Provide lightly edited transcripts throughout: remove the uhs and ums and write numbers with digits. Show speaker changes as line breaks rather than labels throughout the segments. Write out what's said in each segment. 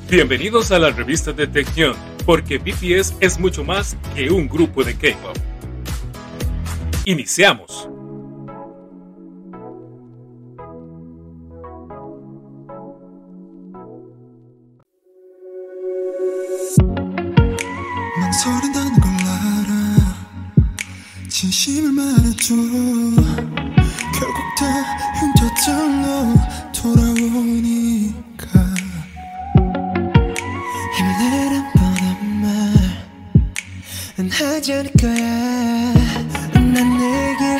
Bienvenidos a la revista de Taecyeon, porque BTS es mucho más que un grupo de K-pop. Iniciamos.
망설인다는 걸 알아. 진심을 말해줘. 결국 다 흉터절로 돌아오니까 힘을 내란 뻔한 말은 하지 않을 거야. 난 내게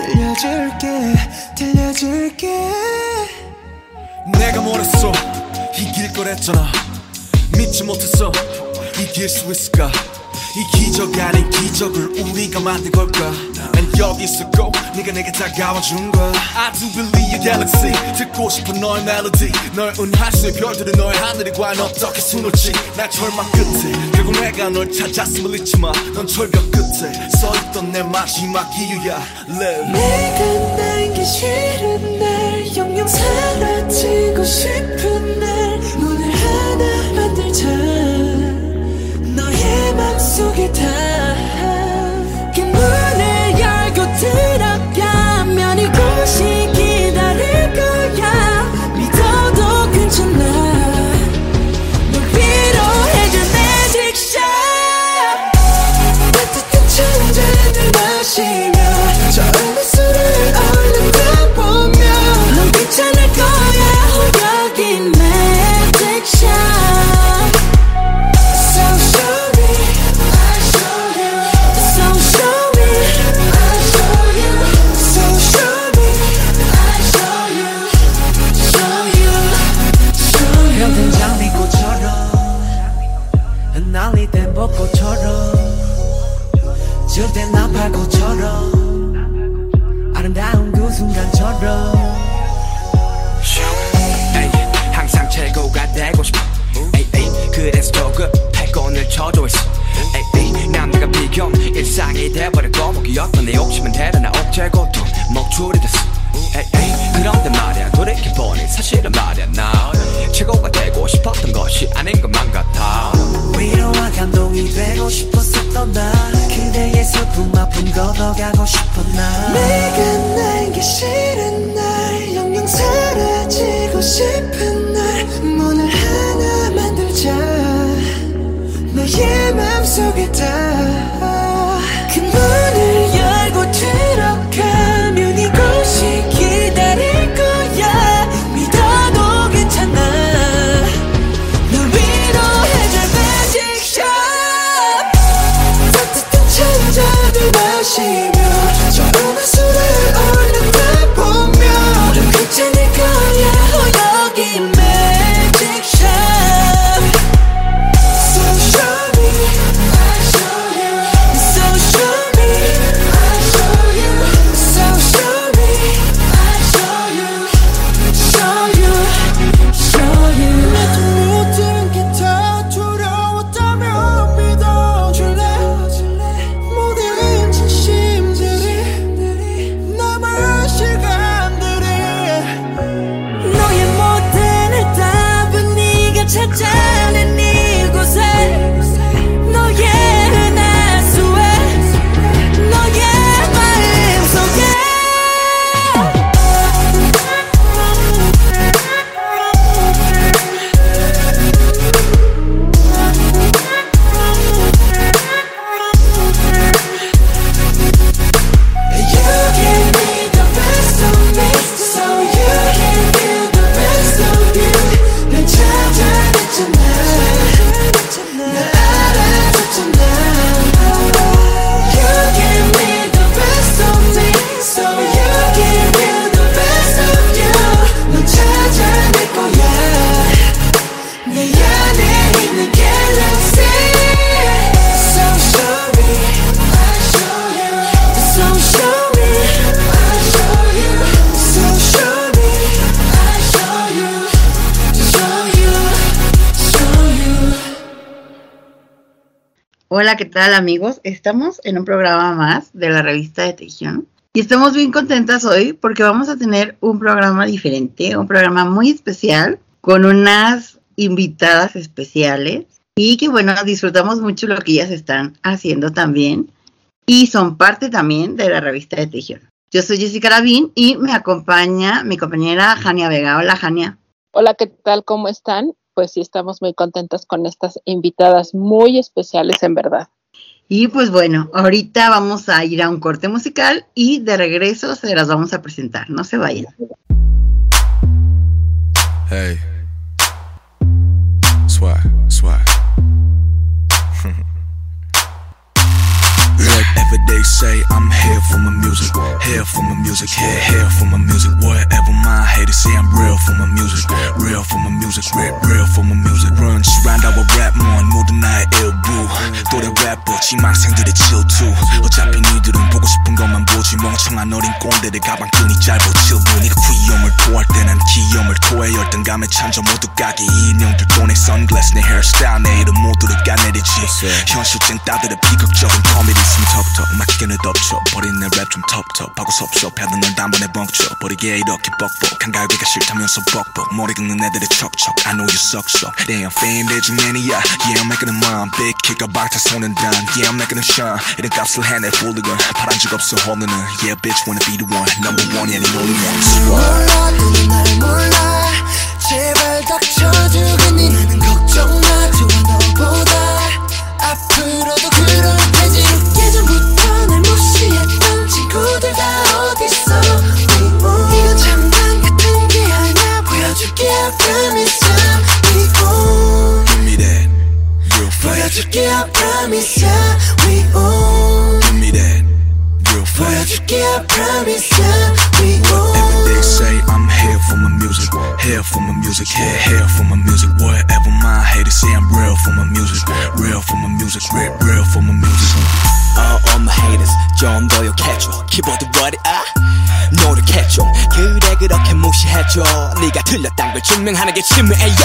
들려줄게.
내가 뭐랬어? 이길 거랬잖아. 믿지 못했어. 이길 수 있을까? 이 기적 아닌 기적을 우리가 만든 걸까? 난 여기 있었고 네가 내게 다가와준 거야. I do believe your galaxy. 듣고 싶은 너의 멜로디. 널 은하수의 별들은 너의 하늘이 과연 어떻게 수놓지? 날 절망 끝에 결국 내가 널 찾았음을 잊지 마. 넌 절벽 끝에 서있던 내 마지막 이유야. Live.
내가 날기 싫은 날 영영 사라지고 싶은 날 문을 하나 만들자. 너의 맘속에 닿아. 그 문을 열고 들어가면 이곳이 기다릴 거야. 믿어도 괜찮아. 널 위로해줄 magic shot. 따뜻한 찬잔을 마시며 저음의 술을 얼른 다 보며 넌 괜찮을 거야. 여기 magic shot. 날리던 벚꽃처럼 저땐 나팔꽃처럼 아름다운 그 순간처럼
항상 최고가 되고 싶어 그래서 조급해 꼰을 쳐줘 있어 남들과 비교 일상이 돼버렸고 목이었던 내 욕심은 대단한 억제고통 목줄이 됐어 그런데 말야 돌이켜보니 사실은 말야 나 최고가 되고 싶었던 것이 아닌 것만 같아.
위로와 감동이 되고 싶었었던 나 그대의 슬픔 아픔 걷어가고 싶어 나 내가 날기 싫은 날 영영 사라지고 싶은 날 문을 하나 만들자. 너의 맘속에 닿아. 그 문을 열고 들어가면 이곳이 기다릴 거야. 믿어도 괜찮아. 널 위로해줄 magic shot. 따뜻한 찬잔을 마시며 저음의 술을 얼른 다 보며 넌 괜찮을 거야. 여기 magic shot. So show me, I'll show you. So show me, I'll show you. So show me, I'll show you. Show you, show you. 내 모든 게 다 두려웠다면 믿어줄래? 모든 진심들이 남은 시간들이 너의 모든 답은 네가 찾아낸 이곳에 너의 은하수에 너의 마음속에 You gave me the best of me, so you can give the best of you. 날 찾아냈잖아. 날 알아줬잖아. You gave me the best of me, so you can give the best of you. 넌 찾아낼 거야. 내 안에 있는 galaxy. So show me, I'll show you. So show me, I'll show you. So show me, I'll show you. Show you, show you.
Hola, ¿qué tal amigos? Estamos en un programa más de la revista de Taecyeon y estamos bien contentas hoy porque vamos a tener un programa diferente, un programa muy especial con unas invitadas especiales y que bueno, disfrutamos mucho lo que ellas están haciendo también y son parte también de la revista de Tejión. Yo soy Jessica Lavín y me acompaña mi compañera Jania Vega. Hola, Jania.
Hola, ¿qué tal? ¿Cómo están? Pues sí, estamos muy contentas con estas invitadas muy especiales, en verdad.
Y pues bueno, ahorita vamos a ir a un corte musical y de regreso se las vamos a presentar. No se vayan.
Hey. Swag. Whatever they say, I'm here for my music. Here for my music, here for my music. Whatever my haters say, I'm real for my music. Real for my music, real for my music. Run, surround our rap more, 모든 나의 일부. 또래 래퍼, 지망생들의 질투. 어차피 니들은 보고 싶은 것만 보지. 멍청한 어린 꼰대들 가방끈이 짧아 7분. 네가 귀염을 토할 때 난 기염을 토해. 열등감에 찬져 모두 가게. 인형들 돈에 선글라스 내 헤어스타일 내 이름 모두를 까내리지. 현실증 따들의 비극적인 코미디 있으면 턱턱 맡기는 덮쳐 버린 내 랩 좀 텁텁하고 섭섭해도 널 단번에 벙쳐 버리게 이렇게 뻑뻑 한가위가 싫다면서 뻑뻑 머리 긁는 애들의 척척 I know you suck so Damn fame 대중 매니아 Yeah I'm making a mom Big kick 박타 손은 단 Yeah I'm making a shine 이런 값을 해내 훌리건 바란 적 없어 홀리는 Yeah bitch wanna be the one Number one이 아닌 only one
몰라 너는 날 몰라 제발 닥쳐주겠니 나는 걱정 마 좋아 너보다 앞으로도 그럴 테지 예전부터 날 무시했던 친구들 다 어딨어 이건 장난 같은 게 아니야 보여줄게 I promise ya
Give me that real fast
보여줄게 I promise ya we own
Give me that real fast
보여줄게 I promise ya we own
Whatever they say I'm here for my music Here for my music here for my music Whatever my haters say I'm real for my music Real for my music real for my music
all my haters 좀 더 욕해줘 키보드 what 노력해줘 그래 그렇게 무시해줘 네가 틀렸단 걸 증명하는 게 치매예요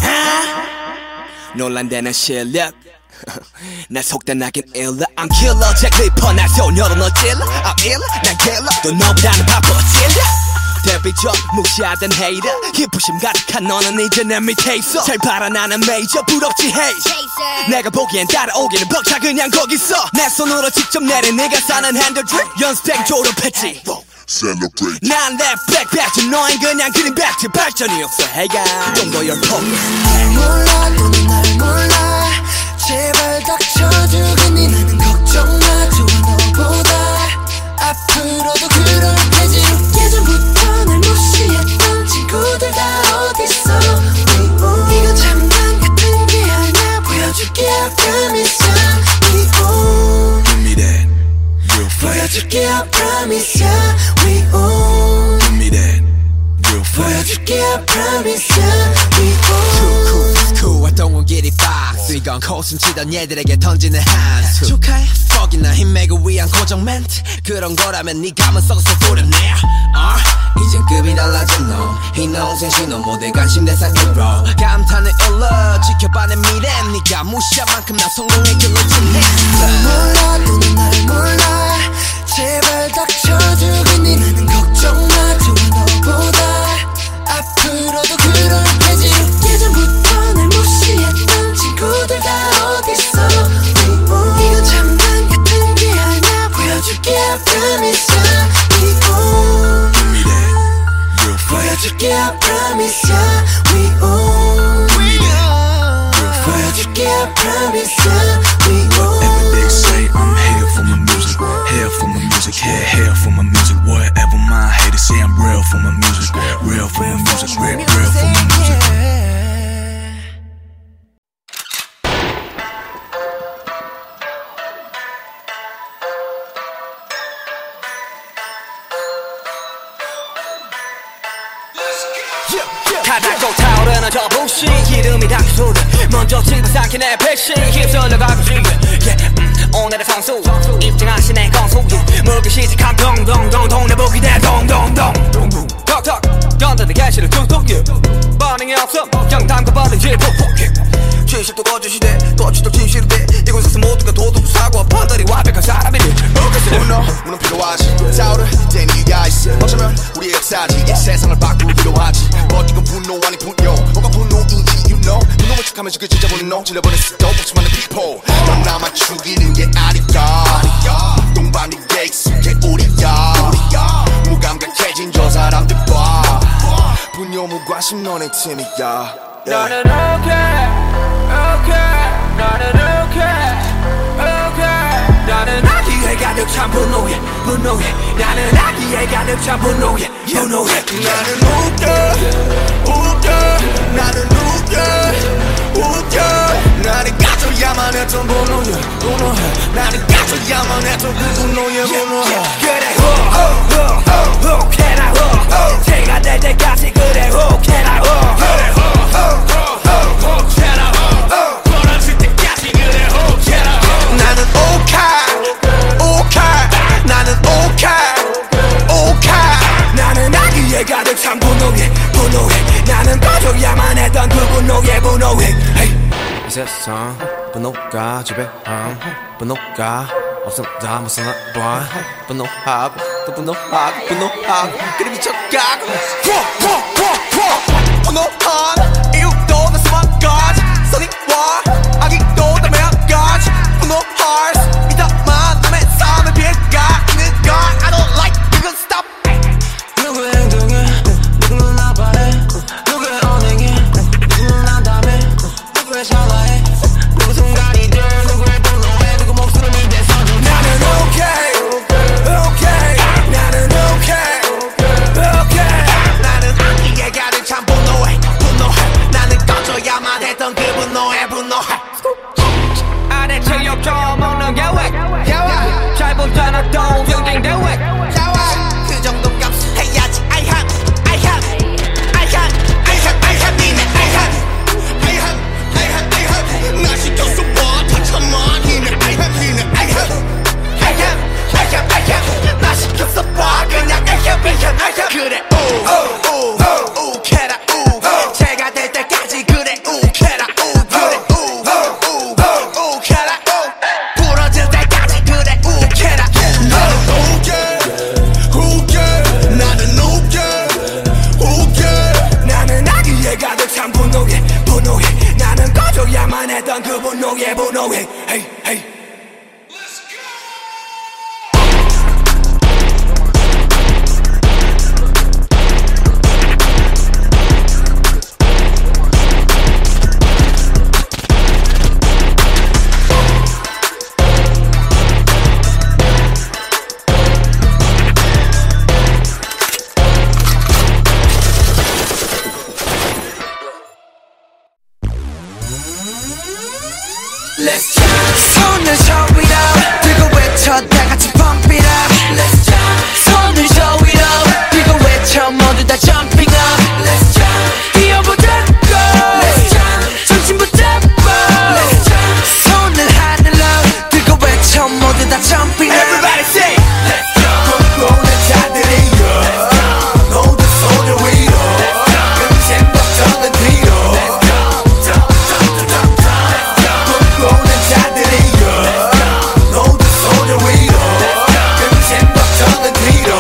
논란되는 실력 날 속단하긴 일러 I'm killer 잭 리퍼 날 소녀로 널 찔러 I'm ill 난 killer 또 너보다는 바빠 찔려 데뷔 전 무시하던 헤이터 희부심 가득한 너는 이제 내 밑에 있어 잘 바라 나는 메이저 부럽지 헤이 내가 보기엔 따라오기는 벅차 그냥 거기 있어 내 손으로 직접 내린 네가 사는 핸들드립 연습생 졸업했지
Celebrate
난 랩 백배지 너흰 그냥 그린 백지 발전이 없어 헤이가 좀 더 열폭
날 몰라 너는 날 몰라 제발 닥쳐주겠니 나는 걱정 마 좋아 너보다 앞으로도 그럴 테지 예전부터 날 무시했던 친구들 다 어딨어 이건 장난 같은 게 아니야 보여줄게 I promise ya we own
Give me that real fast
보여줄게 I promise ya we own
Give me that real fast
보여줄게 I promise ya we own
cool I don't want get it box 이건 코숨 치던 얘들에게 던지는 한수 축하해 퍽이나 힘매고 위한 고정 멘트 그런 거라면 네 감은 썩어서 도려내 이젠 급이 달라진 너이 농생 신호 모두 관심 대상 1로 감탄을 일러 지켜봐 내 미래 네가 무시한 만큼 나 성공의 길로 진행했어
몰라 너는 날 몰라 제발 닥쳐주겠니 나는 걱정 마 좋아 너보다 앞으로도 그럴 테지 예전부터 날 무시했던 친구들 다 어딨어 이건 장난 같은 게 아니야 보여줄게 I promise ya we own
Give me that real fast
보여줄게 I promise ya we own 보여줄게 I promise ya we own
Whatever they say I'm here for my music Here for my music here for my music Whatever my haters say I'm real for my music Real for my music real for my music
가닥도 타오르는 저 불씨 이름이 닥쳐오르 먼저 칭찬삼킨 내 백신 휩쓸려 가고 싶은 오늘의 선수 입증하신 내 건수 물기 시작한 동동동 동네북이 내 동동동 턱턱 건드는 개시를 툭툭 반응이 없어 영담과 받은 질폭폭 진실도 거짓이대 거짓도 진실이대 이곳에서 모두가 도둑 사고와 판단이 완벽한 사람이니
문은 필요하지 싸우를 땐 이유가 있어 어쩌면 우리의 역사지 이 세상을 바꾸기로 하지 버티고 분노 아니 분노 뭐가 분노인지 you know 하면서 그 진짜 보는 너 질러버린 수도 없이 많은 people 넌 나만 죽이는 게 아니야 동반이 게 익숙해 우리야 무감각해진 저 사람들 봐 분노 무관심 너네 팀이야
너는 okay 너는 okay 나는 아기에 가득 찬 분노에 나는 아기에 가득 찬 분노에
나는 웃겨 나는 웃겨 나는 가져야만 했던 분노에 나는 가져야만 했던 그 분노에
그래 혹해라 혹 제가 될 때까지 그래 혹해라 혹해라 혹 벌어질 때까지 그래 혹해라
나는 오카 나는 오카
나는 아기에 가득 찬 분노에 나는 꺼져야만 했던 그 분노에
이 세상 분노가 지배함 분노가 없음 다 무슨 봐 분노하고 또 분노하고 그래 미쳐가고
분노한 이유도 다 수만까지 선의와 악의도 다 매한까지 분노할 이따만 남의 삶을 비해가 있는 걸 I don't like 이건 stop
누구의 행동에 누구는 나빠해 누구의 언행에 누구는 난담해 누구의 샤라해 누구 순간이들 누구의 분노에 누구 목숨을 대서
나는 okay 나는 okay
나는 아기에 가득 찬 분노해 나는 꺼져야만 했던 그 분노해
아래 체력 좀 먹는 계획 잘 붙여놨던 경쟁 대회
그 정도 값을 해야지 I have 나 시켰어 봐 다 참아 니네 I have 나 시켰어 봐 그냥 I have 그래 오 캐라 오 제가 될 때까지 그래 오 캐라 오 그래 오 캐라 오 부러질 때까지 그래 오 캐라 나는 오게
나는 아기에 가득 찬 분노에 나는 꺼져야만 했던 그 분노에 hey.
Let's jump 손을 저 위로 들고 외쳐 다 같이 pump it up Let's jump 손을 저 위로 들고 외쳐 모두 다 jumping up Let's jump 뛰어보자고 Let's jump 정신 붙잡고 Let's jump 손을 하늘로 들고 외쳐 모두 다 jumping up
Everybody say
Let's jump
꿈꾸는 자들이여 모두 손을 위로 금세 걱정은 뒤로 꿈꾸는 자들이여 모두 손을 위로 금세 걱정은 뒤로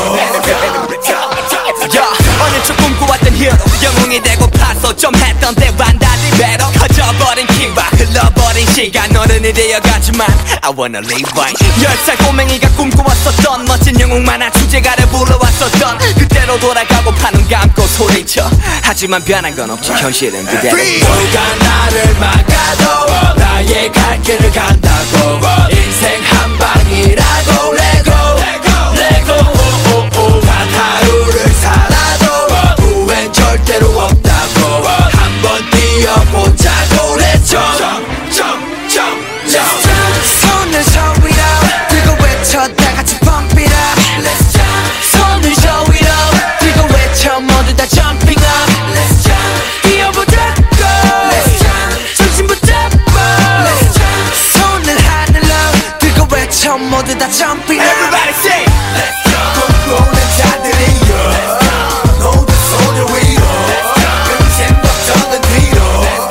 어느 쪽 꿈꿔왔던 히어로 영웅이 되고 파서 좀 했던 때와는 달리 배로 커져버린 키와 흘러버린 시간 어른이 되어가지만 I wanna live right 10살 꼬맹이가 꿈꿔왔었던 멋진 영웅 만화 주제가를 불러왔었던 그때로 돌아가고 파는 감고 소리쳐 하지만 변한 건 없지 현실은 그대로
누가 나를 막아도 나의 갈 길을 간다고 인생 한 방이라고 레고 단 하루를 살아도 후회는 절대로 없다고 한번 뛰어보자고 Let's jump 손을 저 위로 들고 외쳐 다 같이 pump it up Let's jump 손을 저 위로 들고 외쳐 모두 다 jumping up Let's jump 뛰어보자고 Let's jump 정신 붙잡고 Let's jump 손을 하늘로 들고 외쳐 모두 다 jumping up
Everybody say
Let's jump
꿈꾸는 자들이여 모두 손을 위로 금세 걱정은 뒤로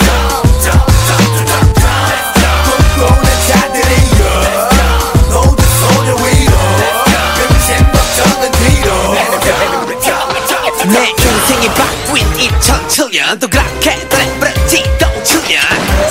꿈꾸는 자들이여 모두 손을 위로 금세 걱정은 뒤로
내 인생이 바뀐 2007년 또 그렇게 그래 지도 7년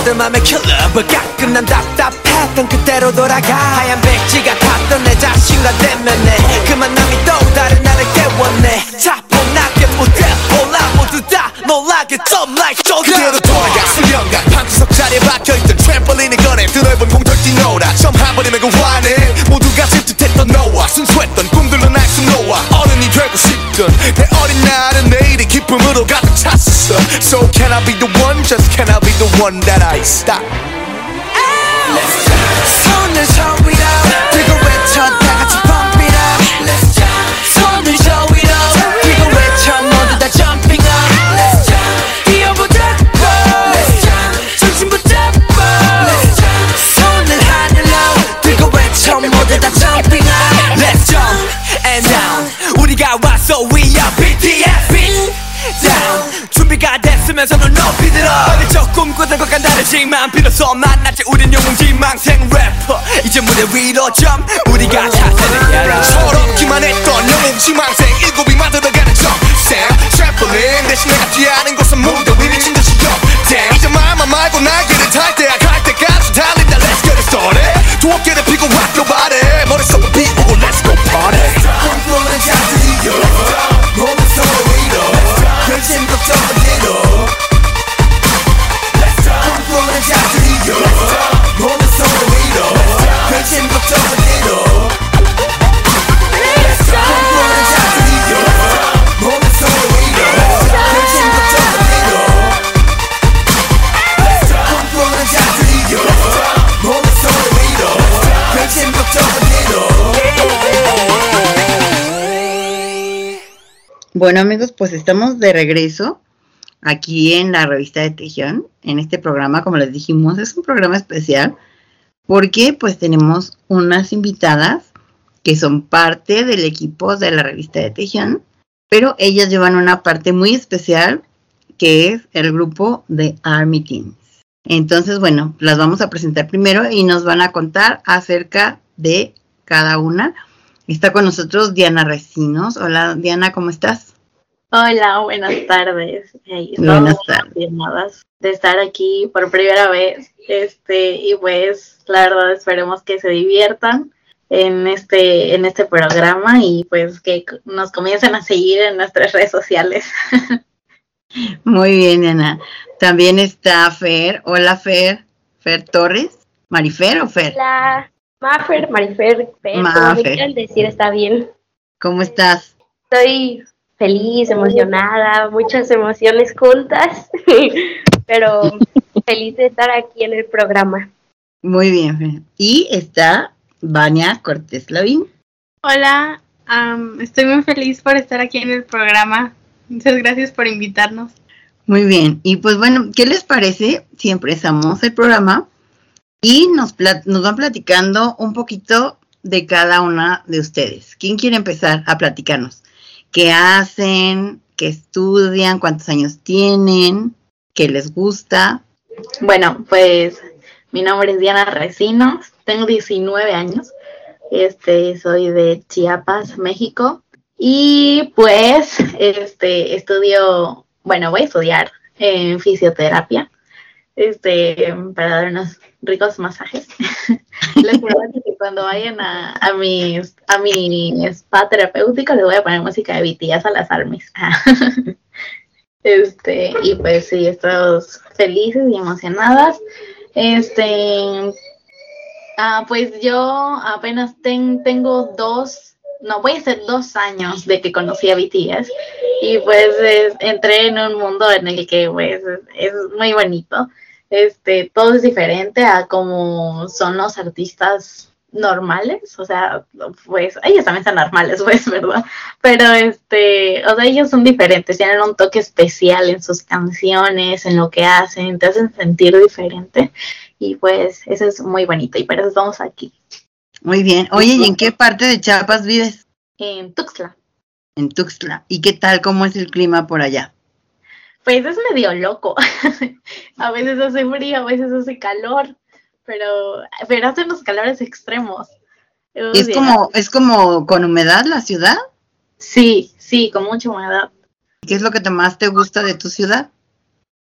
여자들 맘에 킬러 but 가끔 난 답답했던 그때로 돌아가 하얀 백지가 탔던 내 자신과 대면해 그 만남이 또 다른 나를 깨웠네 차분하게 무대 올라 모두 다 놀라게 dumb like 조금 그대로 돌아가 수련관 방구석 자리에 박혀있던 트램펄린을 꺼내 드넓은 공터를 뛰놀아 처음 한 번이면 그 화내 모두가 찝찝했던 너와 순수했던 꿈들로 날 수놓아 어른이 되고 싶던 내 어린 날은 내일이 기쁨으로 가득 찼어 So can I be the one, just can I be the one that I stop Let's dance 손을 저 위로 들고 외쳐 다 같이 pump it up Let's dance 손을 저 위로 들고 외쳐 모두 다 jumping up Let's dance 뛰어보자 Let's dance 중심 붙잡고 Let's dance 손을 하늘로 들고 외쳐 모두 다 jumping up Let's jump and down 우리가 왔어 we are BTS beat down 준비가 됐으면 손을 높이 들어 어릴 적 꿈꾸던 것과 다르지만 비로소 만났지 우린 영웅지망생 래퍼 이제 무대 위로 점 우리가 차세를 열어 서럽기만 했던 영웅지망생 일곱이 만들어가는 점생 트램펄린 대신 내가 뛰어하는 곳은 무대 위 미친 듯이 덤 이제 말만 말고 날개를 탈 때야 갈 때까지 달린다 Let's get it started 두 어깨를 펴고 rock your body 머릿속을 비우고 Let's go party 꿈꾸는 자들이여 몸을 서로 위로 근심 걱정 어디로 꿈꾸는 자들이여 몸을 서로 위로 근심 걱정 어디로 꿈꾸는 자들이여 몸을 서로 위로 근심 걱정 어디로 꿈꾸는 자들이여 몸을 서로 위로 근심 걱정 어디로
Bueno, amigos, pues estamos de regreso aquí en la revista de Tejión, en este programa, como les dijimos, es un programa especial porque pues tenemos unas invitadas que son parte del equipo de la revista de Tejión, pero ellas llevan una parte muy especial que es el grupo de Army Teens. Entonces, bueno, las vamos a presentar primero y nos van a contar acerca de cada una. Está con nosotros Diana Recinos. Hola, Diana, ¿cómo estás?
Hola, buenas tardes.
Buenas tardes.
Emocionadas de estar aquí por primera vez. Y pues, la verdad, esperemos que se diviertan en este programa y pues que nos comiencen a seguir en nuestras redes sociales.
Muy bien, Diana. También está Fer. Hola, Fer. Fer Torres. ¿Marifer o Fer?
Hola, Mafer, Marifer, Fer, como me
Mafer.
quieran decir, está bien.
¿Cómo estás?
Estoy feliz, emocionada, muchas emociones juntas, pero feliz de estar aquí en el programa.
Muy bien, Fer. Y está Vania Cortés Lavín.
Hola, estoy muy feliz por estar aquí en el programa. Muchas gracias por invitarnos.
Muy bien. Y pues bueno, ¿qué les parece si empezamos el programa y nos van platicando un poquito de cada una de ustedes? ¿Quién quiere empezar a platicarnos? ¿Qué hacen? ¿Qué estudian? ¿Cuántos años tienen? ¿Qué les gusta?
Bueno, pues mi nombre es Diana Recinos, tengo 19 años, soy de Chiapas, México, y pues voy a estudiar fisioterapia, para dar unos ricos masajes. Les prometo que cuando vayan a mi spa terapéutico les voy a poner música de BTS a las armies. Y pues sí, estamos felices y emocionadas. Pues yo apenas tengo voy a hacer 2 años de que conocí a BTS y pues entré en un mundo en el que pues es muy bonito. Todo es diferente a como son los artistas normales, o sea, pues ellos también son normales, pues, ¿verdad? Pero o sea, ellos son diferentes, tienen un toque especial en sus canciones, en lo que hacen, te hacen sentir diferente y pues eso es muy bonito y por eso estamos aquí.
Muy bien. Oye, ¿y en qué parte de Chiapas vives?
En Tuxtla.
En Tuxtla. ¿Y qué tal? ¿Cómo es el clima por allá?
Pues es medio loco. A veces hace frío, a veces hace calor, pero hacen unos calores extremos.
¿Es como con humedad la ciudad?
Sí, con mucha humedad.
¿Qué es lo que más te gusta de tu ciudad?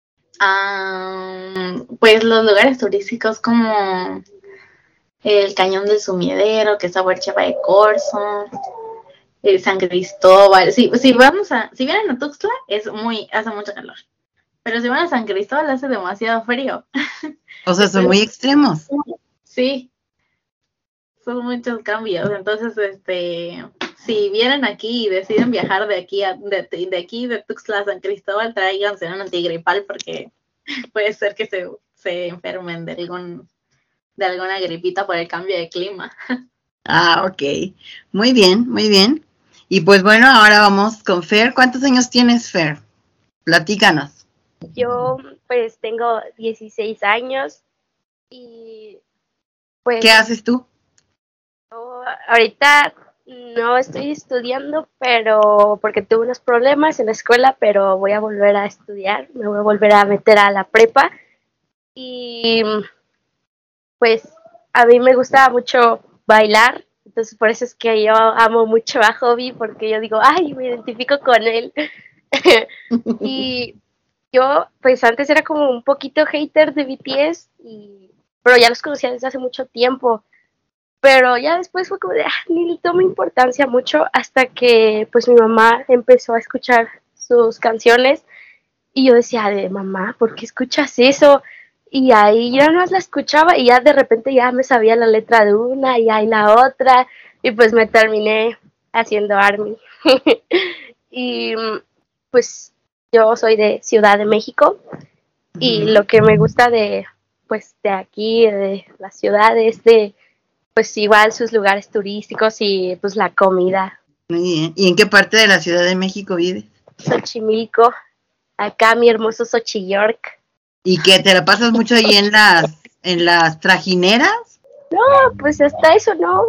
Pues los lugares turísticos como el Cañón del Sumidero, que es Huercheva de Corzo, San Cristóbal. Si vienen a Tuxtla, hace mucho calor. Pero si van a San Cristóbal hace demasiado frío.
O sea, son muy extremos.
Sí, son muchos cambios. Entonces, si vienen aquí y deciden viajar de aquí de Tuxtla a San Cristóbal, tráiganse un antigripal porque puede ser que se enfermen de alguna gripita por el cambio de clima.
Ah, ok. Muy bien, muy bien. Y pues bueno, ahora vamos con Fer. ¿Cuántos años tienes, Fer? Platícanos.
Yo pues tengo 16 años y pues...
¿Qué haces tú?
Ahorita no estoy estudiando, pero porque tuve unos problemas en la escuela, pero voy a volver a estudiar, me voy a volver a meter a la prepa y pues a mí me gusta mucho bailar, entonces por eso es que yo amo mucho a Hobby, porque yo digo, ay, me identifico con él. Y yo pues antes era como un poquito hater de BTS, pero ya los conocía desde hace mucho tiempo. Pero ya después fue como de, ni le tomo importancia mucho hasta que pues mi mamá empezó a escuchar sus canciones y yo decía, de mamá, ¿por qué escuchas eso? Y ahí yo no la escuchaba y ya de repente ya me sabía la letra de una y ahí la otra y pues me terminé haciendo ARMY. Y pues yo soy de Ciudad de México y lo que me gusta de aquí, de la ciudad es pues igual sus lugares turísticos y pues la comida.
Muy bien. ¿Y en qué parte de la Ciudad de México vives?
Xochimilco, acá mi hermoso Xochillork.
¿Y que te la pasas mucho ahí en las trajineras?
No, pues hasta eso no.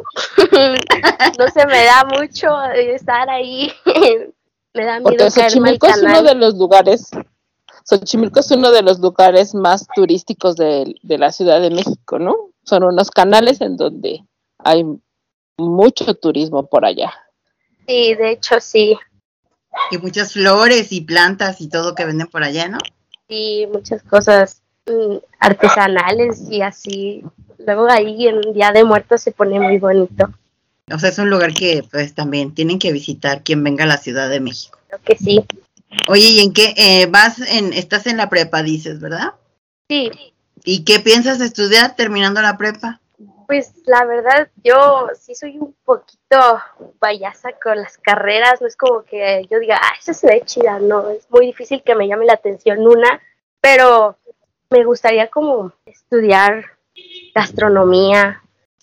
No se me da mucho estar ahí. Me da miedo caerme al
Xochimilco es
canal.
uno de los lugares, Xochimilco es uno de los lugares más turísticos de la Ciudad de México, ¿no? Son unos canales en donde hay mucho turismo por allá.
Sí, de hecho sí.
Y muchas flores y plantas y todo que venden por allá, ¿no?
Sí, muchas cosas artesanales y así. Luego ahí en Día de Muertos se pone muy bonito.
O sea, es un lugar que pues también tienen que visitar quien venga a la Ciudad de México.
Creo que sí.
Oye, ¿y en qué estás en la prepa, dices, verdad?
Sí.
¿Y qué piensas estudiar terminando la prepa?
Pues la verdad, yo sí soy un poquito payasa con las carreras, no es como que yo diga, esa se ve chida, no, es muy difícil que me llame la atención una, pero me gustaría como estudiar gastronomía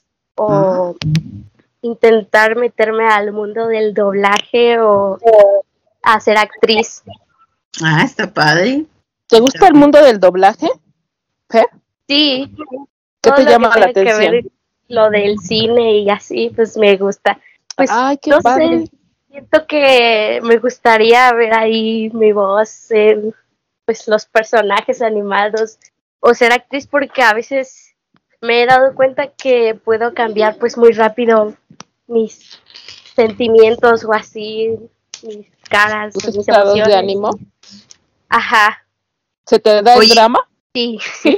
o intentar meterme al mundo del doblaje o a ser actriz.
Ah, está padre.
¿Te gusta el mundo del doblaje? ¿Qué?
Sí.
¿Qué
Todo
te
lo
llama
que
la
tenga que
atención?
ver lo del cine y así, pues me gusta. Pues
Ay, qué
no
padre.
sé, siento que me gustaría ver ahí mi voz en pues los personajes animados o ser actriz, porque a veces me he dado cuenta que puedo cambiar pues muy rápido mis sentimientos o así, mis caras,
¿Tus
mis
estados
emociones.
de ánimo?
Ajá,
¿Se te da el
Oye.
drama?
sí.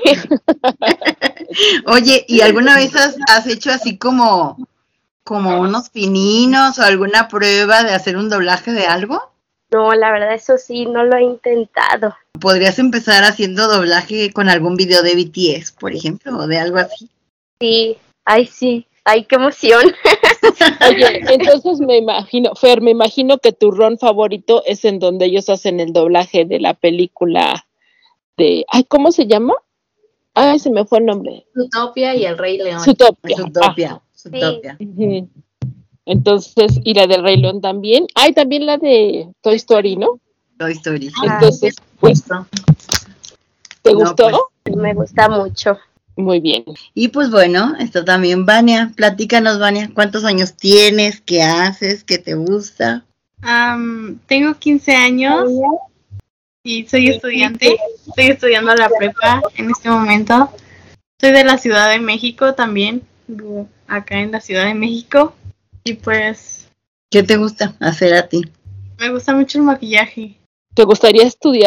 Oye, ¿y alguna vez has hecho así como unos pininos o alguna prueba de hacer un doblaje de algo?
No, la verdad eso sí, no lo he intentado.
Podrías empezar haciendo doblaje con algún video de BTS, por ejemplo, o de algo así.
Sí, ay, qué emoción.
Oye, entonces me imagino que tu ron favorito es en donde ellos hacen el doblaje de la película de... Ay, ¿cómo se llama? Ay, se me fue el nombre.
Zootopia y el Rey León.
Zootopia.
Ujú. Entonces, y la del Rey León también. Ay, también la de Toy Story, ¿no?
Toy Story.
Entonces, pues, ¿te
No,
gustó?
pues.
Me gusta mucho.
Muy bien.
Y pues bueno, está también Vania. Platícanos, Vania, ¿cuántos años tienes? ¿Qué haces? ¿Qué te gusta?
Tengo 15 años y soy estudiante. Estoy estudiando la prepa en este momento. Soy de la Ciudad de México también. Vivo acá en la Ciudad de México. Y pues
¿Qué te gusta hacer a ti?
me gusta mucho el maquillaje.
¿Te gustaría estudiar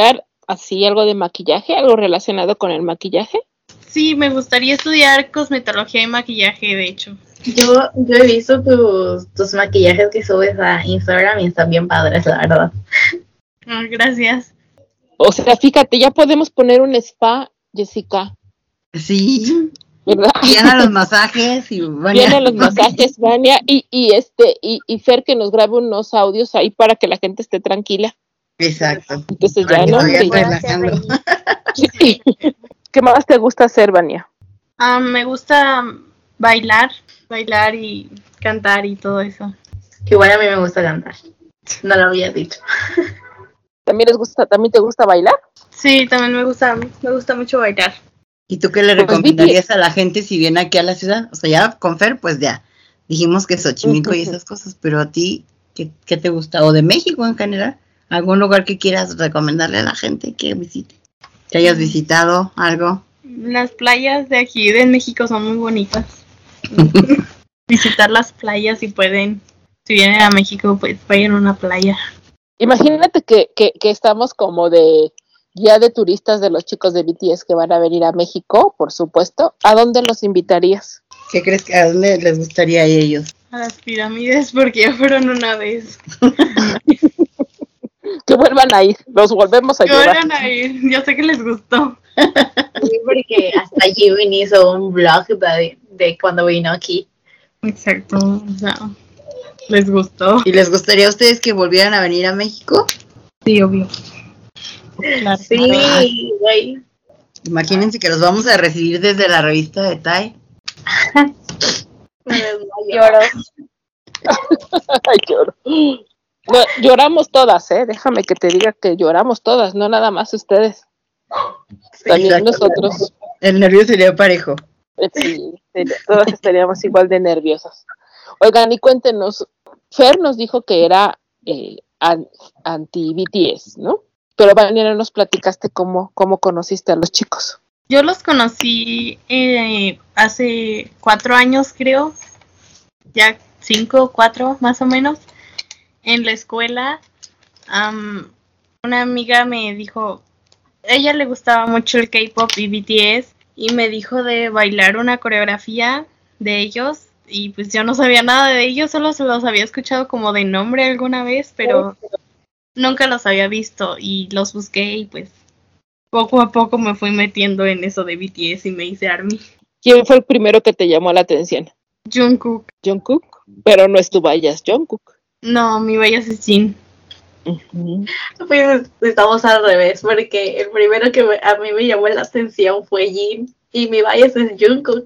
así algo de maquillaje, algo relacionado con el maquillaje?
Sí, me gustaría estudiar cosmetología y maquillaje, de hecho.
Yo he visto tus maquillajes que subes a Instagram y están bien padres, la verdad.
Gracias.
O sea, fíjate, ya podemos poner un spa, Jessica.
Sí.
¿Verdad?
Vienen los masajes y
Vienen los masajes, Vania, y Fer que nos grabe unos audios ahí para que la gente esté tranquila.
Exacto.
Entonces
Para
ya
que
no.
vayan
Sí.
relajando.
Sí. ¿Qué más te gusta hacer, Vania?
Me gusta bailar y cantar y todo eso.
Que igual a mí me gusta cantar. No lo había dicho.
¿También te gusta bailar?
Sí, también me gusta mucho bailar.
¿Y tú qué le recomendarías a la gente si viene aquí a la ciudad? O sea, ya con Fer, pues ya dijimos que Xochimilco y esas cosas, pero a ti, ¿qué te gusta? ¿O de México en general? ¿Algún lugar que quieras recomendarle a la gente que visite? ¿Que hayas visitado algo?
Las playas de aquí de México son muy bonitas. Visitar las playas si pueden. Si vienen a México, pues vayan a una playa.
Imagínate que estamos como de guía de turistas de los chicos de BTS que van a venir a México, por supuesto. ¿A dónde los invitarías?
¿Qué crees que a dónde les gustaría a ellos?
A las pirámides, porque ya fueron una vez.
Que vuelvan a ir, los volvemos a
Que
llevar.
vuelvan a ir, yo sé que les gustó.
Sí, porque hasta Jimin hizo un vlog de cuando vino aquí.
Exacto, o sea, les gustó.
¿Y les gustaría a ustedes que volvieran a venir a México?
Sí, obvio. Claro.
Sí, güey.
Imagínense que los vamos a recibir desde la revista de Tai.
Lloro.
Ay, lloro. No, lloramos todas, déjame que te diga que lloramos todas, no nada más ustedes. También
Exacto.
nosotros.
El nervio sería parejo.
Sí, todas estaríamos igual de nerviosas. Oigan, y cuéntenos, Fer nos dijo que era anti-BTS, ¿no? Pero Vania, nos platicaste cómo conociste a los chicos.
Yo los conocí hace 4 años, creo. Ya 5, 4 más o menos. En la escuela, una amiga me dijo, a ella le gustaba mucho el K-pop y BTS, y me dijo de bailar una coreografía de ellos, y pues yo no sabía nada de ellos, solo se los había escuchado como de nombre alguna vez, pero nunca los había visto, y los busqué, y pues poco a poco me fui metiendo en eso de BTS y me hice ARMY.
¿Quién fue el primero que te llamó la atención?
Jungkook.
Jungkook, pero no es tu vayas Jungkook.
No, mi bias es Jin.
Pues estamos al revés, porque el primero que a mí me llamó la atención fue Jin y mi bias es Jungkook.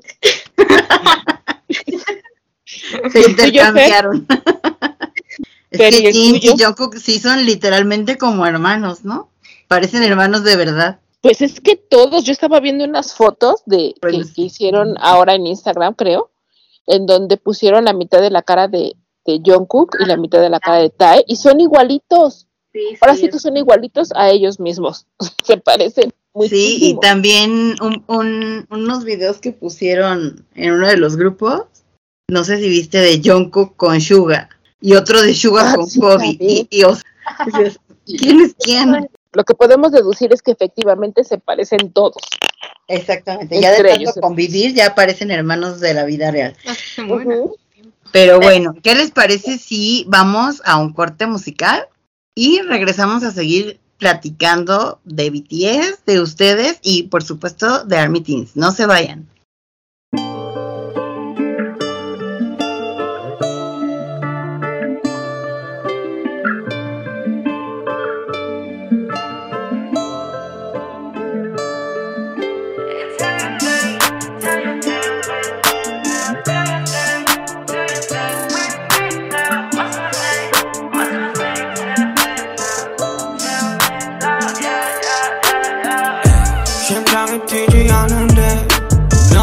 Se intercambiaron. Es que Jin y Jungkook sí son literalmente como hermanos, ¿no? Parecen hermanos de verdad.
Pues es que todos, yo estaba viendo unas fotos que hicieron ahora en Instagram, creo, en donde pusieron la mitad de la cara de Jungkook y la mitad de la cara de Tae, y son igualitos.
Sí,
ahora sí que son igualitos a ellos mismos. Se parecen muchísimo.
Sí, y también unos videos que pusieron en uno de los grupos, no sé si viste, de Jungkook con Suga, y otro de Suga con Kobe. Y ¿quién es quién?
Lo que podemos deducir es que efectivamente se parecen todos.
Exactamente, ya de
Entre
tanto
ellos.
convivir ya parecen hermanos de la vida real.
Bueno.
Pero bueno, ¿qué les parece si vamos a un corte musical y regresamos a seguir platicando de BTS, de ustedes y por supuesto de ARMY Teens? No se vayan.
심장이 뛰지 않는데 넌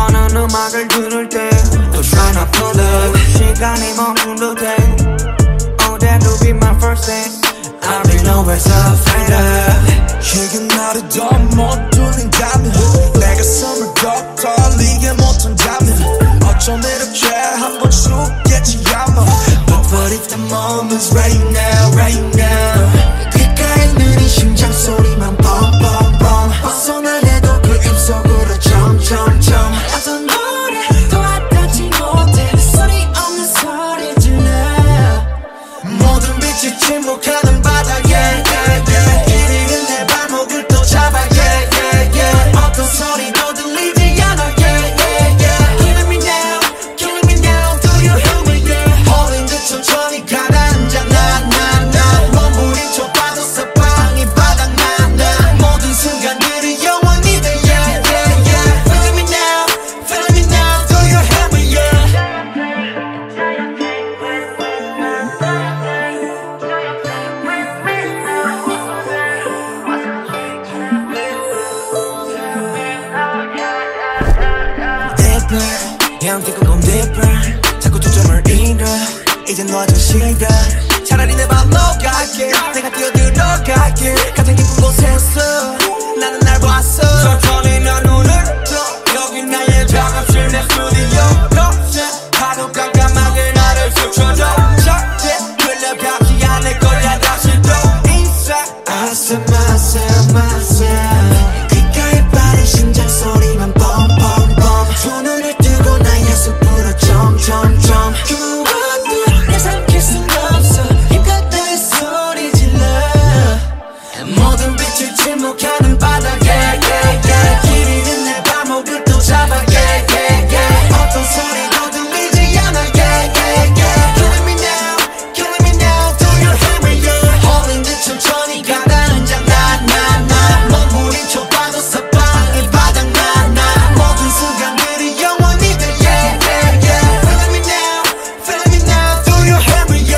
whisper Yeah I'm thinking go deeper 자꾸 초점을 잃어 이젠 너 아주 싫어 차라리 내 맘 녹아게 내가 뛰어들어갈게 가장 깊은 곳에서 나는 날 봤어 천천히 난 눈을 떠 여기 나의 작업실 내 스튜디오 거실 하루 깜깜하게 나를 스쳐줘 절대 끌려가지 않을 거야 다시 또 inside 아슴아슴아슴 귓가에 빠른 심장 소리만 뻥뻥뻥 두 눈을 뜨고 나의 숲으로 점점점 그것도 내 삼킬 순 없어 힘껏 내 소리 질러 모든 빛을 침묵하는 바닥에 길 잃은 내 발목을 또 잡아 어떤 소리도 들리지 않아 Killing me now Do you hear me 홀린 듯 천천히 가다는 장난 몸부림쳐 봐도 사방이 바닥나 모든 순간들이 영원히 돼 Feeling me now Do you hear me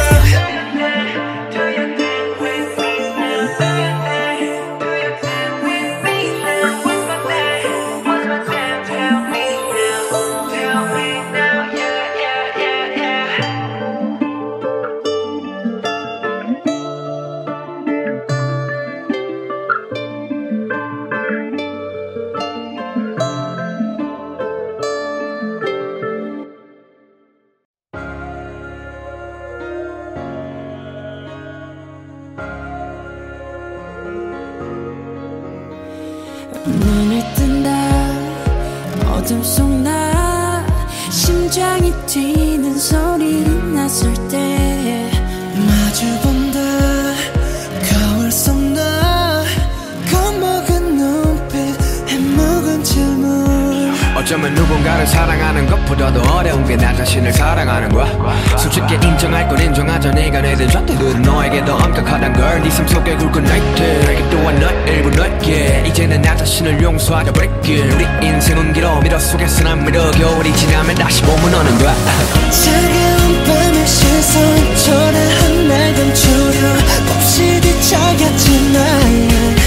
눈을 뜬다 어둠 속 나 심장이 뛰는 소리를 났을 때 마주본다 거울 속 나 겁먹은 눈빛 해먹은 질문
어쩌면 누군가를 사랑하는 것보다도 어려운 게 나 자신을 사랑하는 거야 솔직히 인정할 건 인정하자 네가 내든 잣대들은 너에게 더 엄격하단 걸 네 삶 속에 굵은 나이트 내게 또한 너 일부 너에게 이제는 나 자신을 용서하자 break 우리 인생은 길어 미러 속에서 난 미러 겨울이 지나면 다시 봄은 오는 거야
차가운 밤의 시선 초라한 날 감추려 몹시 뒤척였지 나의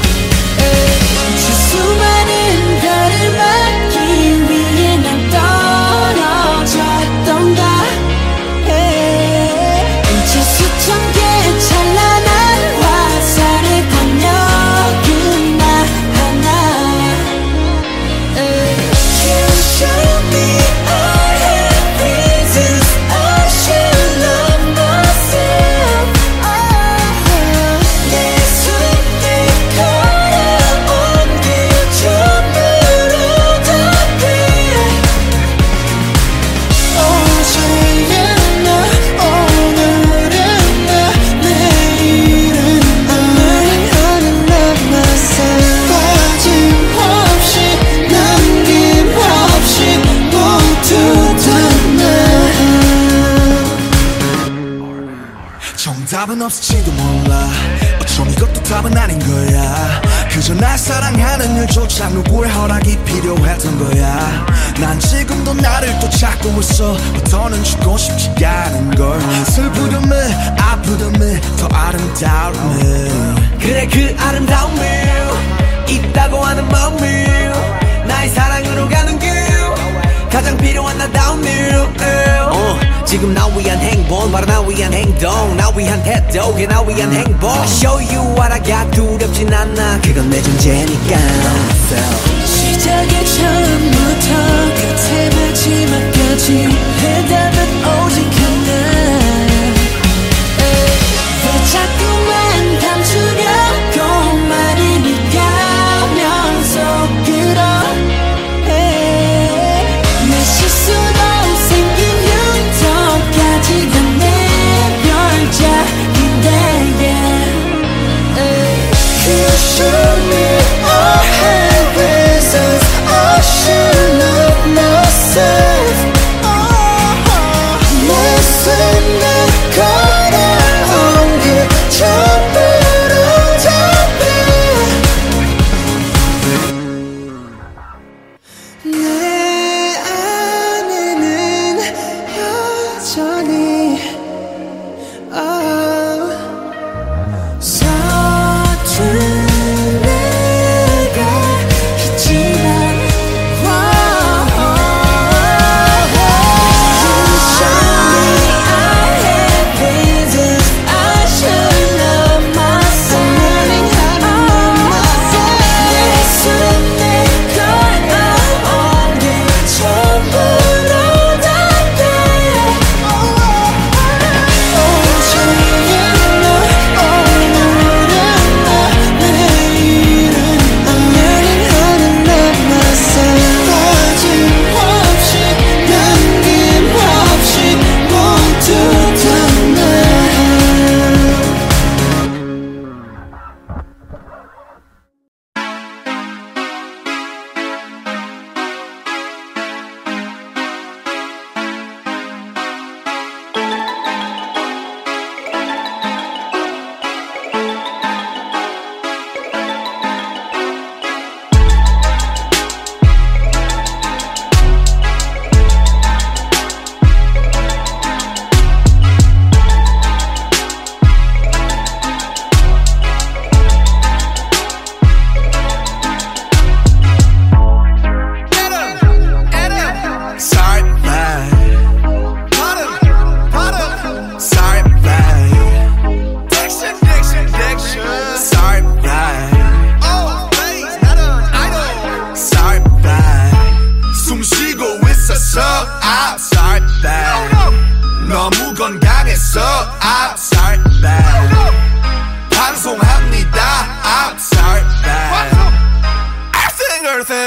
수많은 별을 막기 위해 난 떨어졌던가 이제 수천 개의 찬란한 화살에 건너긴 나 하나 You show me I have reasons I should love myself 내 손에 걸어온 길 전부로 덮여 어제야 나 오늘은 나 내일은 나는 love myself 빠짐없이 남김없이 모두 다
정답은 없을지도 몰라 어쩜 이것도 답은 아닌 거야 그저 날 사랑하는 일조차 누구의 허락이 필요했던 거야 난 지금도 나를 또 찾고 있어 더는 죽고 싶지가 않은 걸 슬프듬을 아프듬을 더 아름다움을
그래 그 아름다움을 있다고 하는 마음을 나의 사랑으로 가는 길 가장 필요한 나다운 일 지금 나 위한 행복 바로 나 위한 행동 나 위한 태도 그게 나 위한 행복 I show you what I got 두렵진 않아 그건 내 존재니까
시작의 처음부터 끝의 마지막까지 해답은 오직 하나 왜 자꾸만 감추려고 말을 비가면서 끌어 내 실수로 생긴 흉터까지가 내 별작인데 You show me I have reasons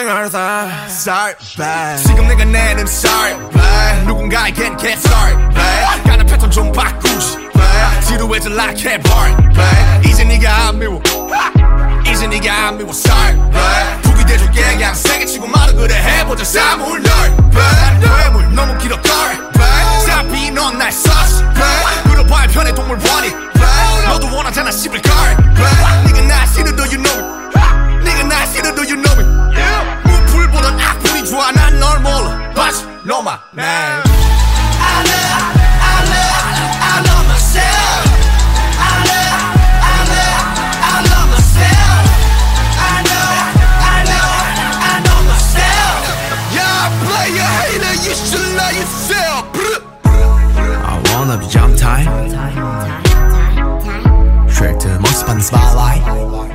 생활 다 sorry babe 지금 내가 내는 sorry babe 누군가에겐 get sorry babe 가는 패턴 좀 바꾸지 babe 지루해져 like a bar babe 이제 네가 안 미워 이제 네가 안 미워 sorry babe 북이 돼줄게 그냥 세게 치고 말아 그래 해보자 사물 널 babe 뇌물 너무 길어 sorry babe 사비 넌 날 썼어 babe 물어봐야 편해 동물 원이 babe 너도 원하잖아 씹을 걸 babe 네가 날 싫어도 you know it 네가 날 싫어도 you know it 무풀보단 악플이 좋아 난 널 몰라 But know my name
I love myself. I love myself. I know myself.
Yeah, player hater, you should love yourself.
I wanna be jump time Straight to the most fun spotlight